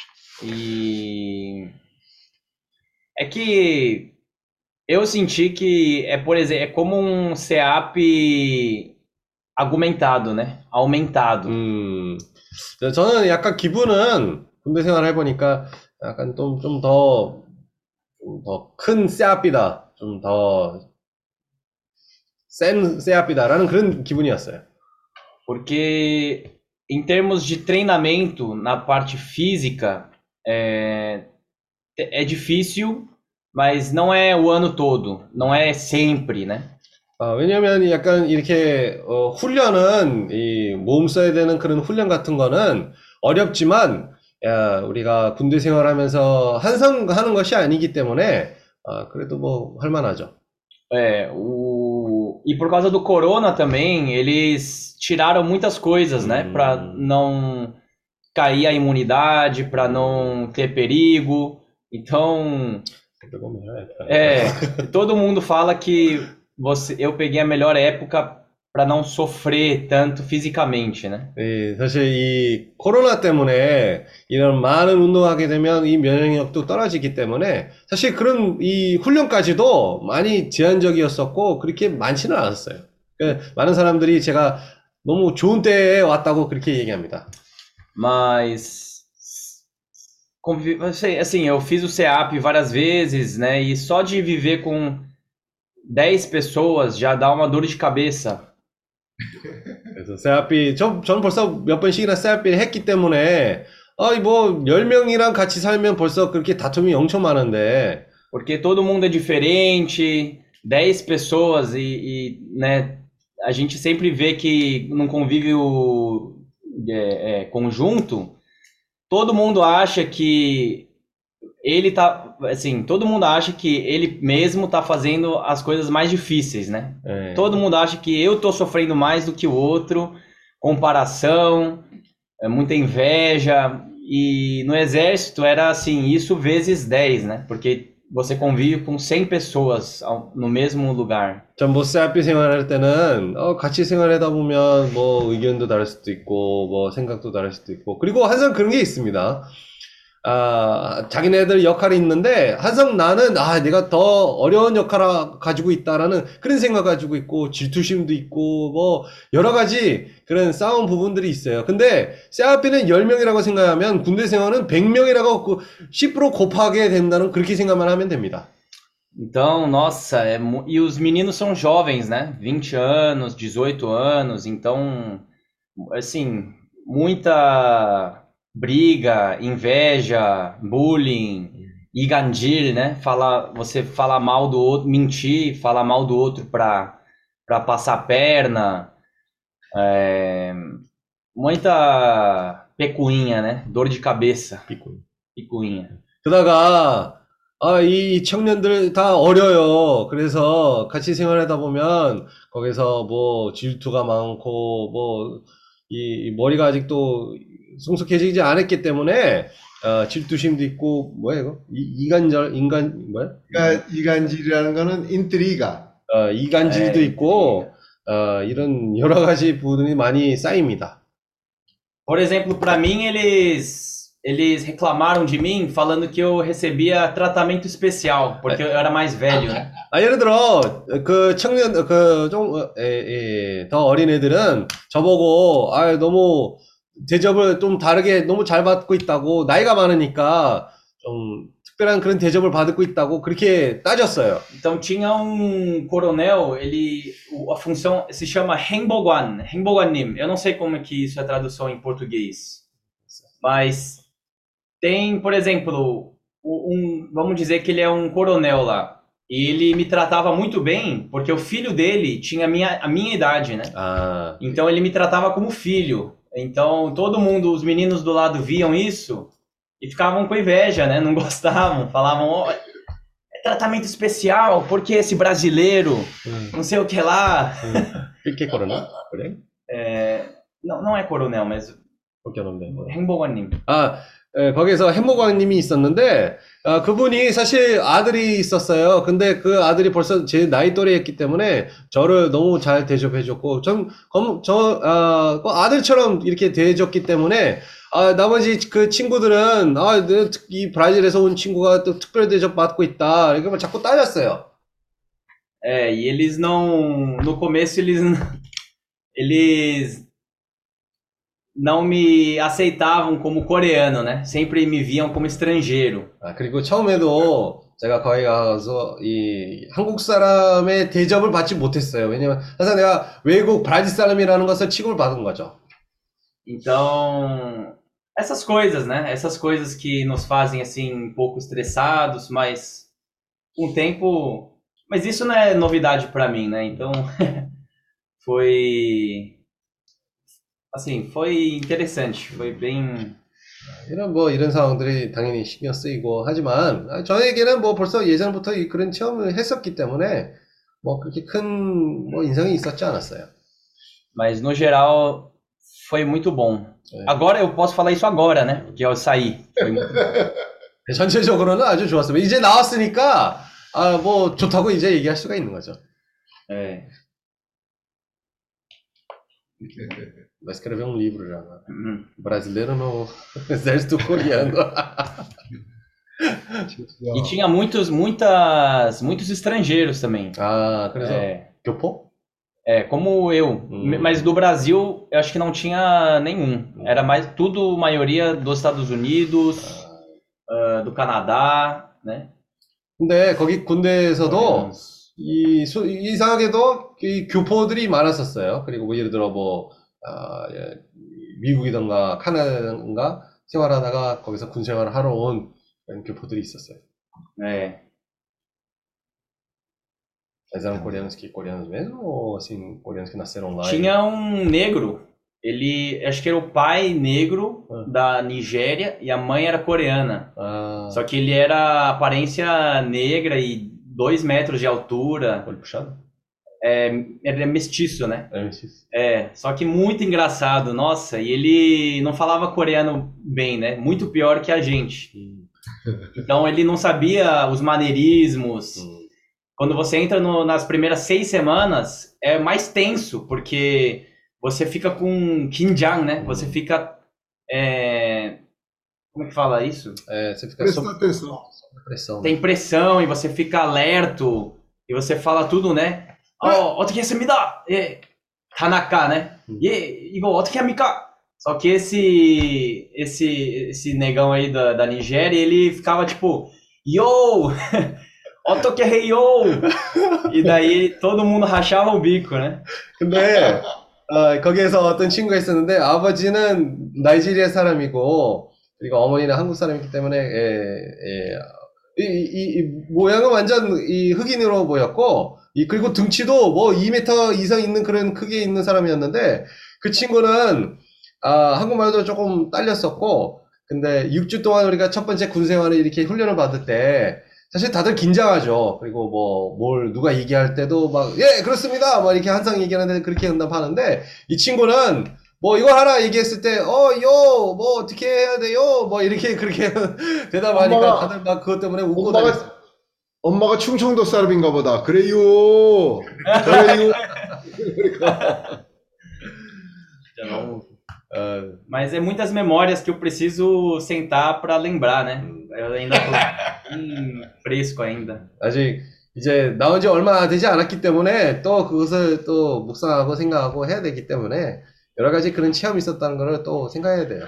E é que eu senti que é, por exemplo, é como um SEAP argumentado, né? Aumentado. 음, 저는 약간 기분은 군대 생활 해보니까 약간 좀, 좀 더, 좀 더 큰 씨아피다. 좀 더 센 씨아피다라는 그런 기분이었어요. Porque em termos de treinamento na parte física, é, é difícil, mas não é o ano todo, não é sempre, né? 아, 왜냐면 약간 이렇게 어, 훈련은 이 몸 써야 되는 그런 훈련 같은 거는 어렵지만 야, 우리가 군대 생활하면서 한성하는 것이 아니기 때문에 아, 그래도 뭐 할만하죠. É, o... E por causa do corona também, eles tiraram muitas coisas, né? Para 음, não cair a imunidade, para não ter perigo. Então, é, todo mundo fala que você, eu peguei a melhor época para não sofrer tanto fisicamente, né? 예, 사실 이 코로나 때문에 이런 많은 운동하게 되면 이 면역력도 떨어지기 때문에 사실 그런 이 훈련까지도 많이 제한적이었었고 그렇게 많지는 않았어요. 그러니까 많은 사람들이 제가 너무 좋은 때에 왔다고 그렇게 얘기합니다. Mas, convi- assim, assim, eu fiz o SEAP várias vezes, né? E só de viver com dez pessoas já dá uma dor de cabeça. 그래서 세아피 저, 저는 벌써 몇 번씩이나 세아피를 했기 때문에 아이 뭐 열 명이랑 같이 살면 벌써 그렇게 다툼이 엄청 많은데 Porque todo mundo é diferente, dez pessoas e, e, né, a gente sempre vê que num convívio é, é, conjunto, todo mundo acha que ele tá, assim, todo mundo acha que ele mesmo tá fazendo as coisas mais difíceis, né? 예. Todo mundo acha que eu tô sofrendo mais do que o outro, comparação, é, muita inveja, e no exército era assim, isso vezes dez, né? Porque você convive com cem pessoas ao- no mesmo lugar. 전뭐 세아피 생활할 때는 어, 같이 생활하다 보면 뭐 의견도 다를 수도 있고 뭐 생각도 다를 수도 있고 그리고 항상 그런 게 있습니다. 아, 자기네들 역할이 있는데 항상 나는 아 내가 더 어려운 역할을 가지고 있다라는 그런 생각 가지고 있고 질투심도 있고 뭐 여러 가지 그런 싸움 부분들이 있어요. 근데 세아피는 열 명이라고 생각하면 군대 생활은 백 명이라고 십 퍼센트 곱하게 된다는 그렇게 생각만 하면 됩니다. Então, nossa, é mu- e os meninos são jovens, né? vinte anos, dezoito anos, então, assim, muita briga, inveja, bullying, igandir, né? Falar, você falar mal do outro, mentir, falar mal do outro para para passar a perna, é, muita pecuinha, né? Dor de cabeça, picuinha. 그러다가 아, 이 청년들 다 어려요. 그래서 같이 생활하다 보면 거기서 뭐 질투가 많고 뭐 이 머리가 아직도 성숙해지지 않았기 때문에 어, 질투심도 있고 뭐야 이거? 이, 이간절 인간 뭐야? 그러니까 이간질이라는 거는 인트리가. 어, 이간질도 네, 있고 어, 이런 여러 가지 부분이 많이 쌓입니다. Por exemplo, para mim, eles eles reclamaram de mim falando que eu recebia tratamento especial, porque eu era mais velho, né? 아, 예를 들어, 그 청년, 그, 좀, 어, 에, 에, 더 어린 애들은 저보고, 아, 너무 대접을 좀 다르게 너무 잘 받고 있다고, 나이가 많으니까 좀 특별한 그런 대접을 받고 있다고 그렇게 따졌어요. Então tinha um coronel, ele o- a função se chama Renboguan, Renboguanim. Eu não sei como é que isso é tradução em português, mas tem, por exemplo, o- um, vamos dizer que ele é um coronel lá. E ele me tratava muito bem, porque o filho dele tinha a minha, a minha idade, né? 아, Então ele me tratava como filho. Então todo mundo, os meninos do lado viam isso e ficavam com inveja, né? Não gostavam, falavam, ó, é tratamento especial, porque esse brasileiro, não sei o que lá. 이렇게 걸어나? 그래? É, não, não é coronel, mas 그렇게 하는데. 행복원님. 아, 예, 거기서 햄버거님이 있었는데, 아, 그분이 사실 아들이 있었어요. 근데 그 아들이 벌써 제 나이 또래였기 때문에 저를 너무 잘 대접해줬고, 전, 검, 저, 아, 그 아들처럼 이렇게 대해줬기 때문에, 아, 나머지 그 친구들은, 아, 내- 이 브라질에서 온 친구가 또 특별 대접 받고 있다. 이렇게 막 자꾸 따졌어요. É, e eles não. No começo eles. Eles não me aceitavam como coreano, né? Sempre me viam como estrangeiro. 아, 그리고 처음에도 제가 거기 가서 이 한국 사람의 대접을 받지 못했어요. 왜냐면 항상 내가 외국 브라질 사람이라는 것을 취급을 받은 거죠. Então, essas coisas, né? Essas coisas que nos fazem assim um pouco estressados, mas com o tempo. Mas isso não é novidade para mim, né? Então, foi. Assim, foi interessante. Foi bem. 이런 뭐 이런 상황들이 당연히 신경 쓰이고 하지만 아, 저에게는 뭐 벌써 예전부터 이- 그런 체험을 했었기 때문에 뭐 그렇게 큰 뭐 인상이 있었지 않았어요. Mas no geral, foi muito bom. 네. Agora eu posso falar isso agora, né? Porque eu saí. Foi muito... 전체적으로는 아주 좋았어요. 이제 나왔으니까 아, 뭐 좋다고 이제 얘기할 수가 있는 거죠. É. Vai escrever um livro já. Né? Uhum. Brasileiro no exército coreano. E tinha muitos, muitas, muitos estrangeiros também. 아, 그래서 É, 교포? é, como eu. Hum. Mas do Brasil, eu acho que não tinha nenhum. Era mais tudo, maioria dos Estados Unidos, ah, do Canadá, né? 근데 거기 군대에서도 Coreanos. 이 수- 이상하게도 이 교포들이 많았었어요. 그리고 뭐 예를 들어 뭐 아, 예, 미국이던가 카나다던가 생활하다가 거기서 군 생활을 하러 온 그런 교포들이 있었어요. É. Mas eram coreanos que coreanos mesmo ou assim coreanos que nasceram lá? e- Tinha um negro. Ele, acho que era o pai negro Ah. da Nigéria e a mãe era coreana. 아, Só que ele era aparência negra e dois metros de altura. olho puxado? É, ele é mestiço, né? É, isso. É, só que muito engraçado, nossa. E ele não falava coreano bem, né? Muito pior que a gente. 음, Então ele não sabia os maneirismos. 음. Quando você entra no- nas primeiras seis semanas, é mais tenso, porque você fica com kinjang, né? Você fica. é, Como é que fala isso? É, você fica Presta sob atenção. pressão. né? Tem pressão e você fica alerto e você fala tudo, né? 어, 어떻게 했습니다. 예, Tanaka, né? Hum. 예, 이거 어떻게 합니까? Só que esse esse esse negão aí da, da Nigéria, ele ficava tipo, yo, 어떻게 해요? E daí todo mundo rachava o bico, né? 근데 어, 거기에서 어떤 친구가 있었는데 아버지는 나이지리아 사람이고 그리고 어머니는 한국 사람이기 때문에 예, 예, 이, 이, 이 모양은 완전 이 흑인으로 보였고 이 그리고 등치도 뭐 이 미터 이상 있는 그런 크기에 있는 사람이었는데 그 친구는 아, 한국말도 조금 딸렸었고 근데 육 주 동안 우리가 첫 번째 군 생활을 이렇게 훈련을 받을 때 사실 다들 긴장하죠. 그리고 뭐, 뭘 누가 얘기할 때도 막, 예, 그렇습니다. 막 이렇게 항상 얘기하는데 그렇게 응답하는데, 이 친구는 뭐 이거 하나 얘기했을 때, 어, 요, 뭐 어떻게 해야 돼요? 뭐 이렇게 그렇게 대답하니까 엄마가- 다들 막 그것 때문에 웃고 엄마가 다녔어요. 엄마가 충청도 사람인가 보다. 그래요. 그래요. 어, Mas é muitas memórias que eu preciso sentar pra lembrar, né? Eu ainda tô hum, fresco ainda. 아직 이제 나온 지 얼마 되지 않았기 때문에 또 그것을 또 묵상하고 생각하고 해야 되기 때문에 여러 가지 그런 체험이 있었다는 거를 또 생각해야 돼요.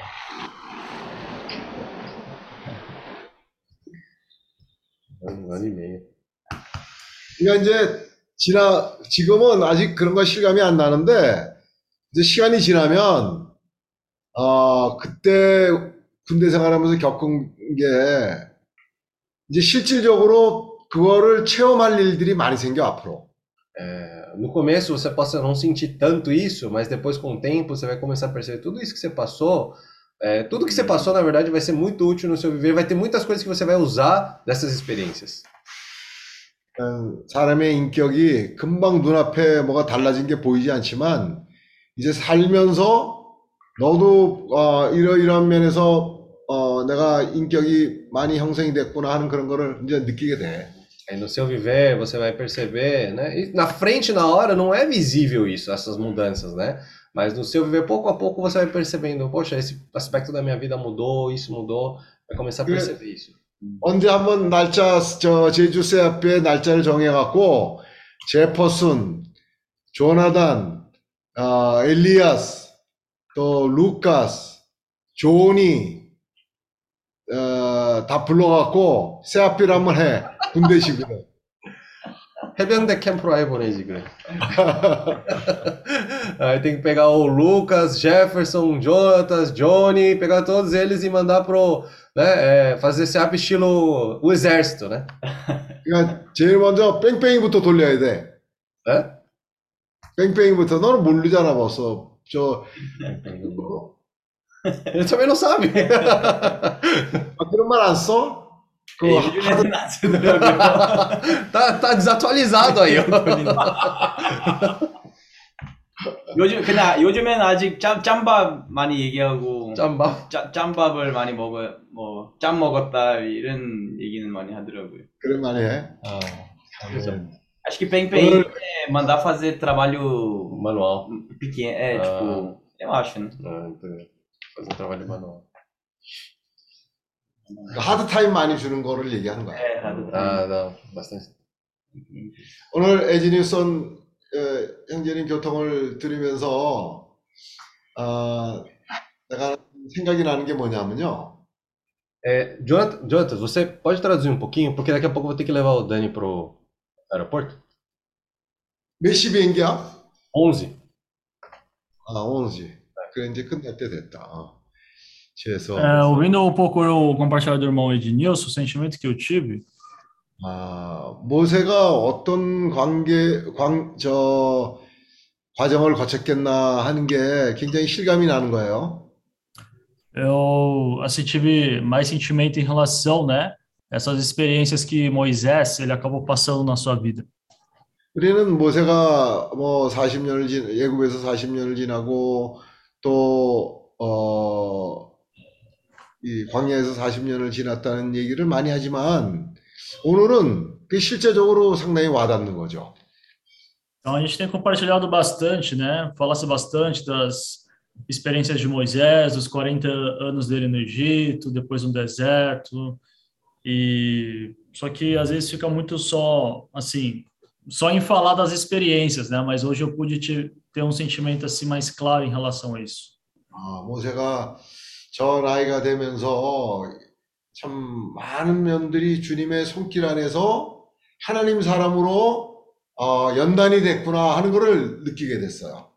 아니, 네. 그러니까 이제 지나 지금은 아직 그런 거 실감이 안 나는데 이제 시간이 지나면 어 그때 군대 생활하면서 겪은 게 이제 실질적으로 그거를 체험할 일들이 많이 생겨 앞으로. É, no começo você possa não sentir tanto isso, mas depois com o tempo você vai começar a perceber tudo isso que você passou. É, tudo que você passou, na verdade, vai ser muito útil no seu viver. Vai ter muitas coisas que você vai usar dessas experiências. 어, 사람의 인격이 금방 눈앞에 뭐가 달라진 게 보이지 않지만 이제 살면서 너도 어, 이러이러한 면에서 어, 내가 인격이 많이 형성이 됐구나 하는 그런 거를 이제 느끼게 돼. Aí no seu viver você vai perceber, né? E na frente, na hora, não é visível isso, essas mudanças, né? Mas no seu viver, pouco a pouco, você vai percebendo, poxa, esse aspecto da minha vida mudou, isso mudou, vai começar a perceber isso. 언제 한번 날짜 저 제주세 앞에 날짜를 정해갖고 제퍼슨, 조나단, 어, 엘리아스, 또 루카스, 조니 어, 다 불러갖고 세아피를 한번 해 군대식으로. 해병대 캠프로 해보내지, 그래. Aí tem que pegar o Lucas, Jefferson, Jonatas, Johnny, pegar todos eles e mandar pro, né, é, fazer esse app estilo o exército, né? 그러니까 제일 먼저 뺑뺑이부터 돌려야 돼. É? 뺑뺑이부터. 너는 모르잖아 벌써. 저 Ele também não sabe. 아, 그런 말 안 써? 그 요즘에는 안 쓰더라고요. tá, tá desatualizado aí, ó. 요즘 그냥 요즘에는 아직 짬 짬밥 많이 얘기하고 짬밥. 짬 짬밥을 많이 먹어 뭐 짬 먹었다 이런 얘기는 많이 하더라고요. 그런 말 해. Ah, Acho que Pen Pen é mandar fazer trabalho manual. pequeno, é Ah. tipo, eu acho, né? Ah, fazer um trabalho manual. 하드 타임 많이 주는 거를 얘기하는 거야. É, errado. Ah, não, bastante. 오늘 에지니 쏜 어, 형제님 교통을 들으면서 어, 내가 생각이 나는 게 뭐냐면요. É, Jonathan, Jonathan, você pode traduzir um pouquinho? Porque daqui a pouco eu vou ter que levar o Dani pro aeroporto. 몇 시 비행기야? onze. 아, 오지. 그래 이제 끝날 때 됐다. 어. 죄송. É, ouvindo um pouco o compartilhar do irmão Ednilson, o sentimento que eu tive, 아, 모세가 어떤 관계, 광, 저, 과정을 거쳤겠나 하는 게 굉장히 실감이 나는 거예요. eu assim tive mais sentimento em relação, né, essas experiências que Moisés ele acabou passando na sua vida. 우리는 모세가 뭐 사십 년을 지, 애굽에서 사십 년을 지나고 또, 어, 이 광야에서 사십 년을 지났다는 얘기를 많이 하지만 오늘은 그 실제적으로 상당히 와닿는 거죠. Então a gente tem compartilhado bastante, né, falasse bastante das experiências de Moisés, dos quarenta anos dele no Egito, depois no deserto, e só que às vezes fica muito só, assim, só em falar das experiências, né, mas hoje eu pude te, ter um sentimento assim mais claro em relação a isso. 아, 모세가 저 나이가 되면서 참 많은 면들이 주님의 손길 안에서 하나님 사람으로 어, 연단이 됐구나 하는 것을 느끼게 됐어요.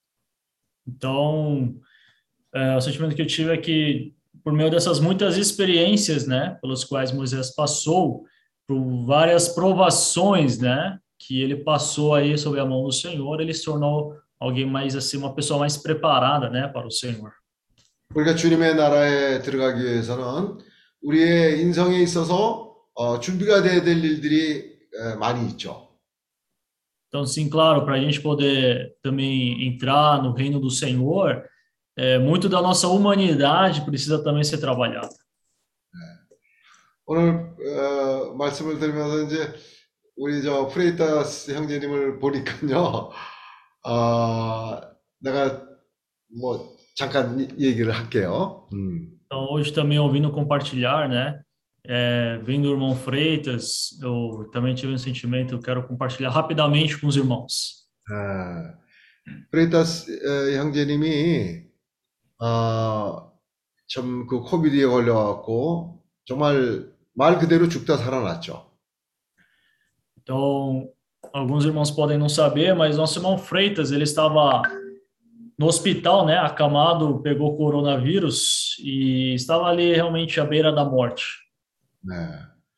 Então, é, o sentimento que eu tive é que, por meio dessas muitas experiências, né, pelas quais Moisés passou, por várias provações, né, que ele passou aí sob a mão do Senhor, ele se tornou alguém mais assim, uma pessoa mais preparada, né, para o Senhor. 우리가 주님의 나라에 들어가기 위해서는 우리의 인생에 있어서 어, 준비가 돼야 될 일들이 에, 많이 있죠. Então, sim, claro, para a gente poder também entrar no reino do Senhor, é, muito da nossa humanidade precisa também ser trabalhada. 오늘 어, 말씀을 들으면서 이제 우리 저 프레이타스 형제님을 보니까요, 어, 내가 뭐 잠깐 얘기를 할게요. 음. Então, hoje também ouvindo compartilhar, né? É, vendo o irmão Freitas, eu também tive um sentimento, eu quero compartilhar rapidamente com os irmãos. 아, 프레이타스 어, 형제님이 어, 참 그 코비드에 걸려갖고 정말 말 그대로 죽다 살아났죠. Então, alguns irmãos podem não saber, mas nosso irmão Freitas, ele estava no hospital, né, acamado, pegou coronavírus e estava ali realmente à beira da morte. 네.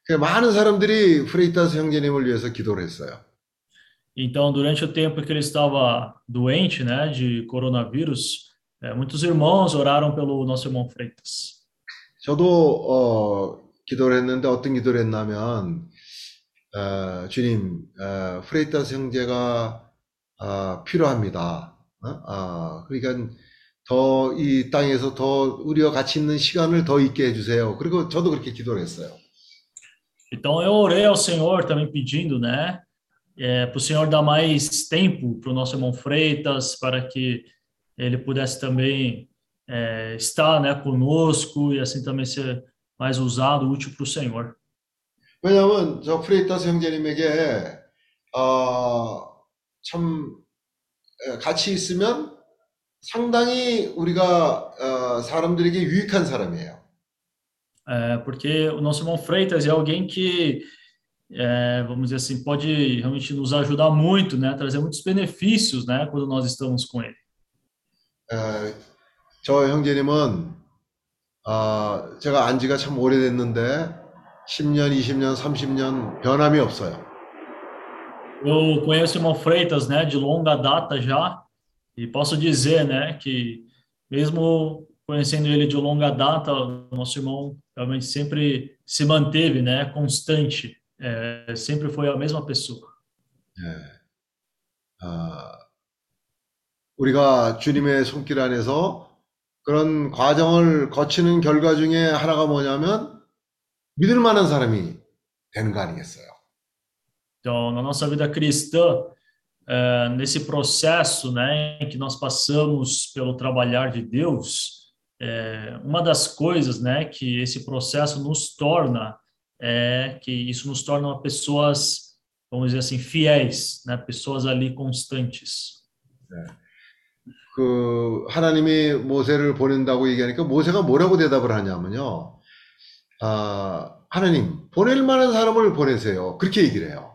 그 많은 사람들이 프레이타스 형제님을 위해서 기도를 했어요. Então, durante o tempo que ele estava doente, né, de coronavírus, eh, muitos irmãos oraram pelo nosso irmão Freitas. 저도 어, 기도를 했는데 어떤 기도를 했냐면 어, 주님, 어, 프레이타스 형제가 어, 필요합니다. 어? 어, 그러니까 더 이 땅에서 더 우리와 같이 있는 시간을 더 있게 해주세요. 그리고 저도 그렇게 기도를 했어요. Então, eu orei ao Senhor também pedindo, né, é, para o Senhor dar mais tempo para o nosso irmão Freitas, para que ele pudesse também é, estar, né, conosco e assim também ser mais usado, útil para o Senhor. 왜냐하면 저 프레이타스 형제님에게 어, 참 에, 같이 있으면 상당히 우리가 어, 사람들에게 유익한 사람이에요. É, porque o nosso irmão Freitas é alguém que, é, vamos dizer assim, pode realmente nos ajudar muito, né, trazer muitos benefícios, né, quando nós estamos com ele. 에, 저 형제님은 어, 제가 안 지가 참 오래됐는데 십 년, 이십 년, 삼십 년 변함이 없어요. Eu conheço o irmão Freitas, né, de longa data já, e posso dizer, né, que mesmo conhecendo ele de longa data, o nosso irmão realmente sempre se manteve, né, constante, é, sempre foi a mesma pessoa. 예. 어, 우리가 주님의 손길 안에서 그런 과정을 거치는 결과 중에 하나가 뭐냐면 믿을 만한 사람이 되는 거 아니겠어요? Então, na nossa vida cristã, é, nesse processo, né, em que nós passamos pelo trabalhar de Deus, é, uma das coisas, né, que esse processo nos torna é que isso nos torna pessoas, vamos dizer assim, fiéis, né, pessoas ali constantes. 네. 그 하나님이 모세를 보낸다고 얘기하니까 모세가 뭐라고 대답을 하냐면요. 아, 하나님 보낼 만한 사람을 보내세요. 그렇게 얘기를 해요.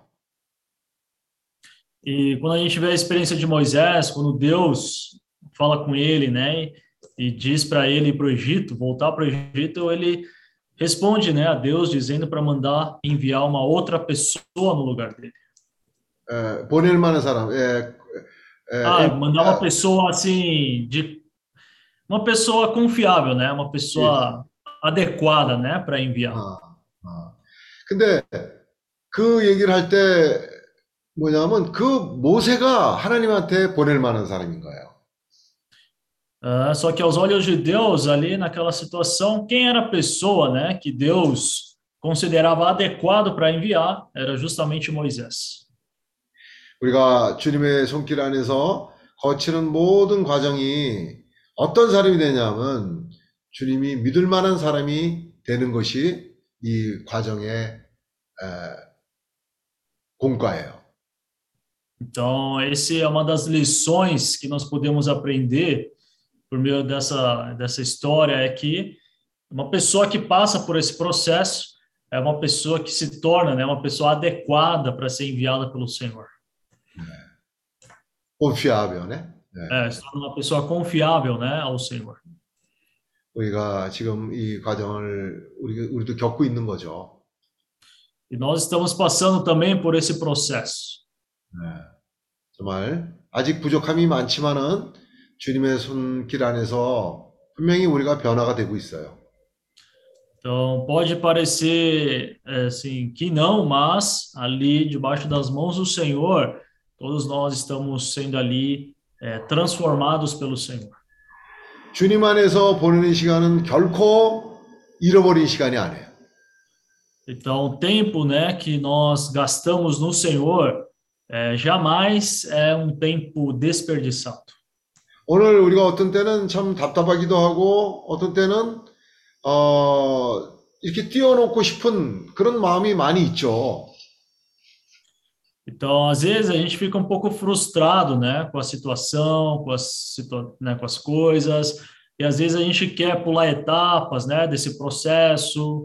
E quando a gente vê a experiência de Moisés, quando Deus fala com ele, né, e diz para ele ir para o Egito, voltar para o Egito, ele responde, né, a Deus dizendo para mandar enviar uma outra pessoa no lugar dele. 에, 보낼 만한 사람. 에, 에, Ah, 에, mandar uma pessoa assim de uma pessoa confiável, né, uma pessoa adequada, né, para enviar. 아, 아. 근데 그 얘기를 할 때 뭐냐면 그 모세가 하나님한테 보낼 만한 사람인 거예요. Uh, só que aos olhos de Deus, ali naquela situação, quem era a pessoa, né, que Deus considerava adequado para enviar era justamente Moisés. 우리가 주님의 손길 안에서 거치는 모든 과정이 어떤 사람이 되냐면 주님이 믿을 만한 사람이 되는 것이 이 과정의 에, 공과예요. Então, essa é uma das lições que nós podemos aprender por meio dessa, dessa história, é que uma pessoa que passa por esse processo é uma pessoa que se torna, né, uma pessoa adequada para ser enviada pelo Senhor. confiável, né? 네. É, se torna uma pessoa confiável, né, ao Senhor. 우리가 지금 이 과정을 우리, 우리도 겪고 있는 거죠. E nós estamos passando também por esse processo. 네. 정말 아직 부족함이 많지만은 주님의 손길 안에서 분명히 우리가 변화가 되고 있어요. Então, pode parecer assim que não, mas ali debaixo das mãos do Senhor, todos nós estamos sendo ali é, transformados pelo Senhor. 주님 안에서 보내는 시간은 결코 잃어버린 시간이 아니에요. Então, o tempo, né, que nós gastamos no Senhor é, jamais é um tempo desperdiçado. 오늘 우리가 어떤 때는 참 답답하기도 하고 어떤 때는 어, 이렇게 띄워놓고 싶은 그런 마음이 많이 있죠. Então, às vezes a gente fica um pouco frustrado, né, com a situação, com as, situa né, com as coisas, e às vezes a gente quer pular etapas, né, desse processo.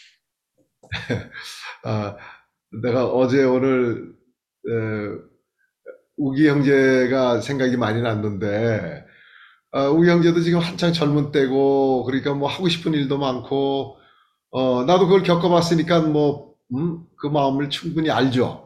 아, 내가 어제 오늘 에, 우기 형제가 생각이 많이 났는데 아, 우기 형제도 지금 한창 젊은 때고 그러니까 뭐 하고 싶은 일도 많고 어, 나도 그걸 겪어봤으니까 뭐 음, 그 마음을 충분히 알죠.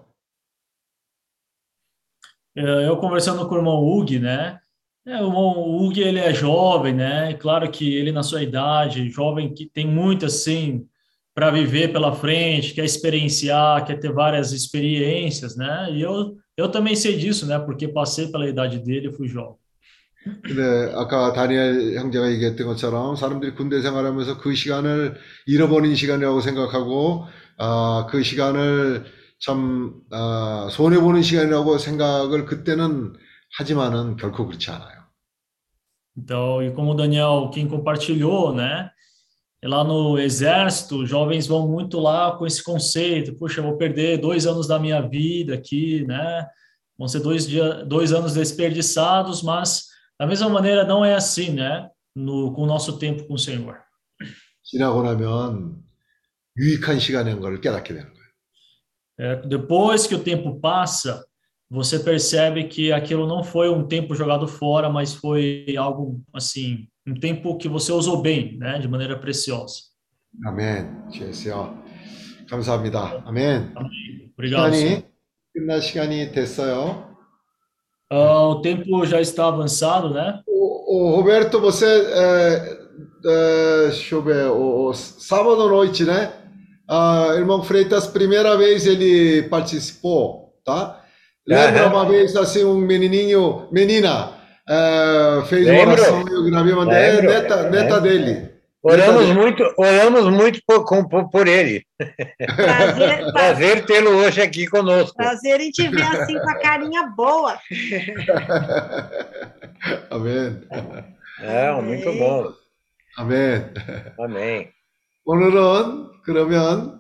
É, Eu conversando com o irmão Hug, né? É, o irmão Hug, ele é jovem, né? E claro que ele na sua idade, jovem que tem muito assim para viver pela frente, quer experienciar, quer ter várias experiências, né? E eu eu também sei disso, né? Porque passei pela idade dele e fui jovem. 근데 아까 다니엘 형제가 얘기했던 것처럼 사람들이 군대 생활하면서 그 시간을 잃어버린 시간이라고 생각하고 아, 그 시간을 참 아, 손해보는 시간이라고 생각을 그때는 하지만은 결코 그렇지 않아요. Então, e como o Daniel, quem compartilhou, né? Lá no exército, os jovens vão muito lá com esse conceito, puxa, eu vou perder dois anos da minha vida aqui, né? Vão ser dois, dia, dois anos desperdiçados, mas da mesma maneira não é assim, né? No, com o nosso tempo com o Senhor. 지나고 나면 유익한 시간인 걸 깨닫게 되는 거예요. É, depois que o tempo passa, você percebe que aquilo não foi um tempo jogado fora, mas foi algo assim, um tempo que você usou bem, né? De maneira preciosa. 아멘. 주여 감사합니다. 아멘. Amém. Obrigado, 시간이 Senhor. 끝날 시간이 됐어요. Ah, o tempo já está avançado, né? O, o Roberto, você, é, é, deixa eu ver, o, o sábado à noite, né? Ah, irmão Freitas, primeira vez ele participou, tá? Lembra uma vez assim um menininho, menina, é, fez uma Lembro. oração e eu gravei uma é, Lembro. neta, neta Lembro. dele. Oramos Neta dele. muito, oramos muito por, com- por, por ele. Prazer, Prazer tê-lo hoje aqui conosco. prazer em te ver assim com a carinha boa. 아멘. É, muito bom. 아멘. Amém. 오늘은 그러면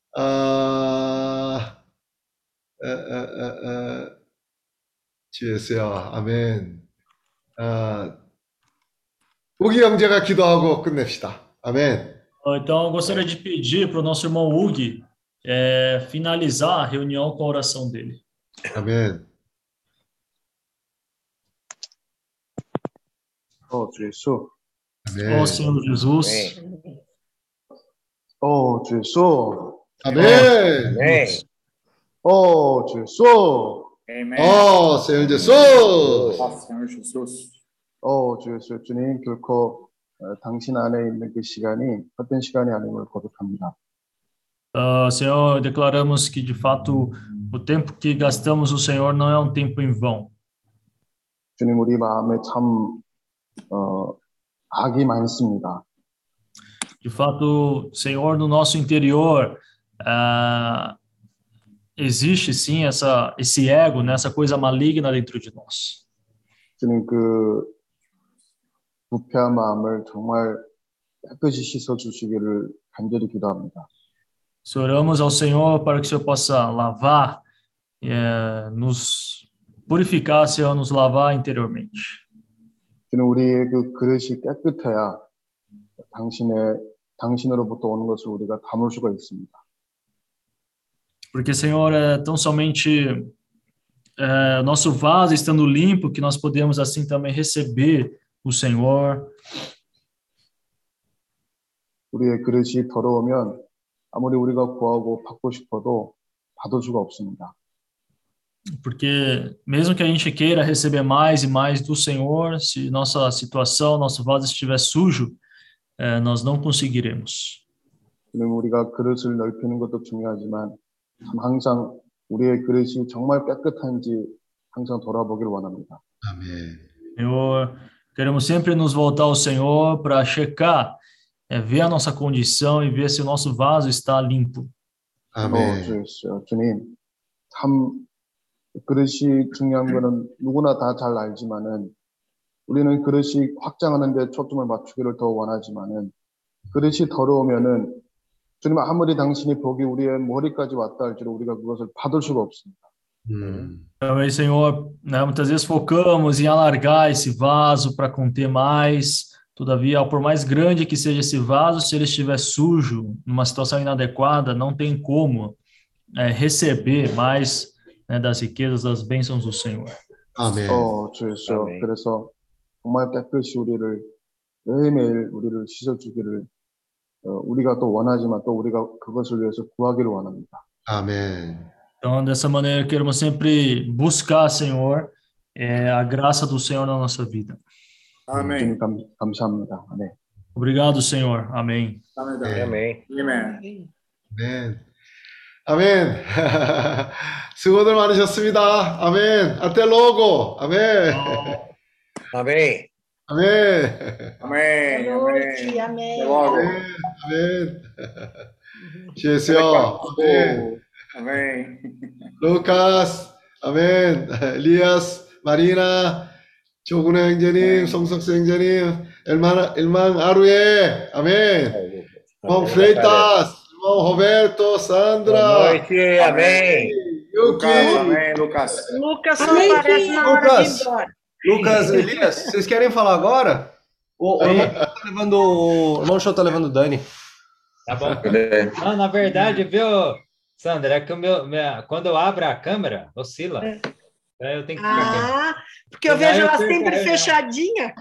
아, 에, 에, 에, 에, 주예수야, 아멘. 아, 우기 형제가 기도하고 끝냅시다. 아멘. Então, eu gostaria de pedir para o nosso irmão Hug é, finalizar a reunião com a oração dele. 아멘. 어, 주 예수. 아멘. Ó Senhor Jesus, Amém. 어, 주 예수. 아멘. Amém. 어, 주 예수. Amém. 어, Senhor Jesus. Ó Senhor Jesus. 어, 주 예수. 주님, 결코 어, 당신 안에 있는 그 시간이 헛된 시간이 아님을 거듭합니다. ah, Senhor, declaramos que de fato o tempo que gastamos no Senhor não é um tempo em vão. 주님, 우리 마음에 참 어, 악이 많습니다. De fato, Senhor, no nosso interior ah, existe sim essa, esse ego, né, essa coisa maligna dentro de nós. 주님, 그 부패한 마음을 정말 깨끗이 씻어 주시기를 간절히 기도합니다. Oramos ao Senhor para que o Senhor possa lavar, eh, nos purificar, Senhor, nos lavar interiormente. 주님, 우리의 그 그릇이 깨끗해야 당신의 당신으로부터 오는 것을 우리가 담을 수가 있습니다. Porque, Senhor, é tão somente é, nosso vaso estando limpo que nós podemos assim também receber o Senhor. 우리의 그릇이 더러우면 아무리 우리가 구하고 받고 싶어도 받을 수가 없습니다. Porque mesmo que a gente queira receber mais e mais do Senhor, se nossa situação, nosso vaso estiver sujo, é, nós não conseguiremos. 주님, 우리가 그릇을 넓히는 것도 중요하지만 참 항상 우리의 그릇이 정말 깨끗한지 항상 돌아보길 원합니다. 아멘. Senhor, queremos sempre nos voltar ao Senhor para checar, é, ver a nossa condição e ver se o nosso vaso está limpo. 어, 아멘. 주, 주님, 참 그릇이 중요한 거는 누구나 다 잘 알지만은 우리는 그릇이 확장하는 데 초점을 맞추기를 더 원하지만은 그릇이 더러우면은 주님, 아무리 당신이 복이 우리의 머리까지 왔다 할지라도 우리가 그것을 받을 수가 없습니다. 음. Também, Senhor, né, muitas vezes focamos em alargar esse vaso para conter mais. Todavia, por mais grande que seja esse vaso, se ele estiver sujo, numa situação inadequada, não tem como é, receber mais, né, das riquezas, das bênçãos do Senhor. 아멘. 어, 주 예수. 아멘. 그래서 정말 깨끗이 우리를 매일매일 우리를 씻어주기를 어, 우리가 또 원하지만 또 우리가 그것을 위해서 구하기를 원합니다. 아멘. Então, dessa maneira, queremos sempre buscar, Senhor, é, a graça do Senhor na nossa vida. Amém. 주님 감, 감사합니다. 네. Obrigado, Senhor. Amém. Amém. Amém. Amém. 아멘. 아멘. 수고들 많으셨습니다. 아멘. 아테 로고. 아멘. Amém. 아멘. Amém. Boa noite, amém. Até logo. 아멘. 아멘. 주여. 아멘. Amém. 루카스. 아멘. 엘리아스. 마리나. 조근혜 형제님. 송석수 형제님. 엘만, 엘만 아루에. 아멘. irmão Freitas. irmão Roberto. Sandra. Boa noite. Amém. Yuki. Lucas, amém, Lucas. Lucas só Amém, aparece na hora de ir Lucas. embora. Lucas, Elias, vocês querem falar agora? O, o irmão Show tá levando, o irmão Show tá levando o Dani. Tá bom. Não, na verdade, viu, Sandra, é que o meu, minha, quando eu abro a câmera, oscila. Aí eu tenho que ficar quieto. Ah, porque eu Senão vejo eu ela perco a sempre reunião. fechadinha.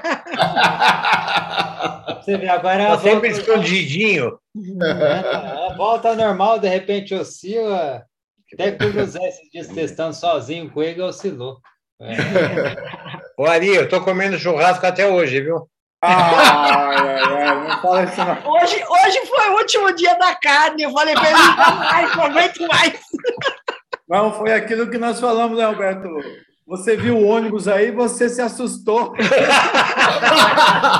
Você vê, agora Tá ela sempre volta, escondidinho. ela volta ao normal, de repente oscila. Até que o José esses dias testando sozinho com ele, oscilou. É. Ô, Ari, eu tô comendo churrasco até hoje, viu? Ai, ai, ai, não fala isso não. Hoje, hoje foi o último dia da carne. Eu falei para ele, ai, não aguento mais. Não, foi aquilo que nós falamos, né, Alberto? Você viu o ônibus aí, você se assustou.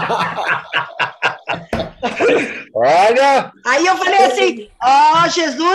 Olha! Aí eu falei assim, ó, Jesus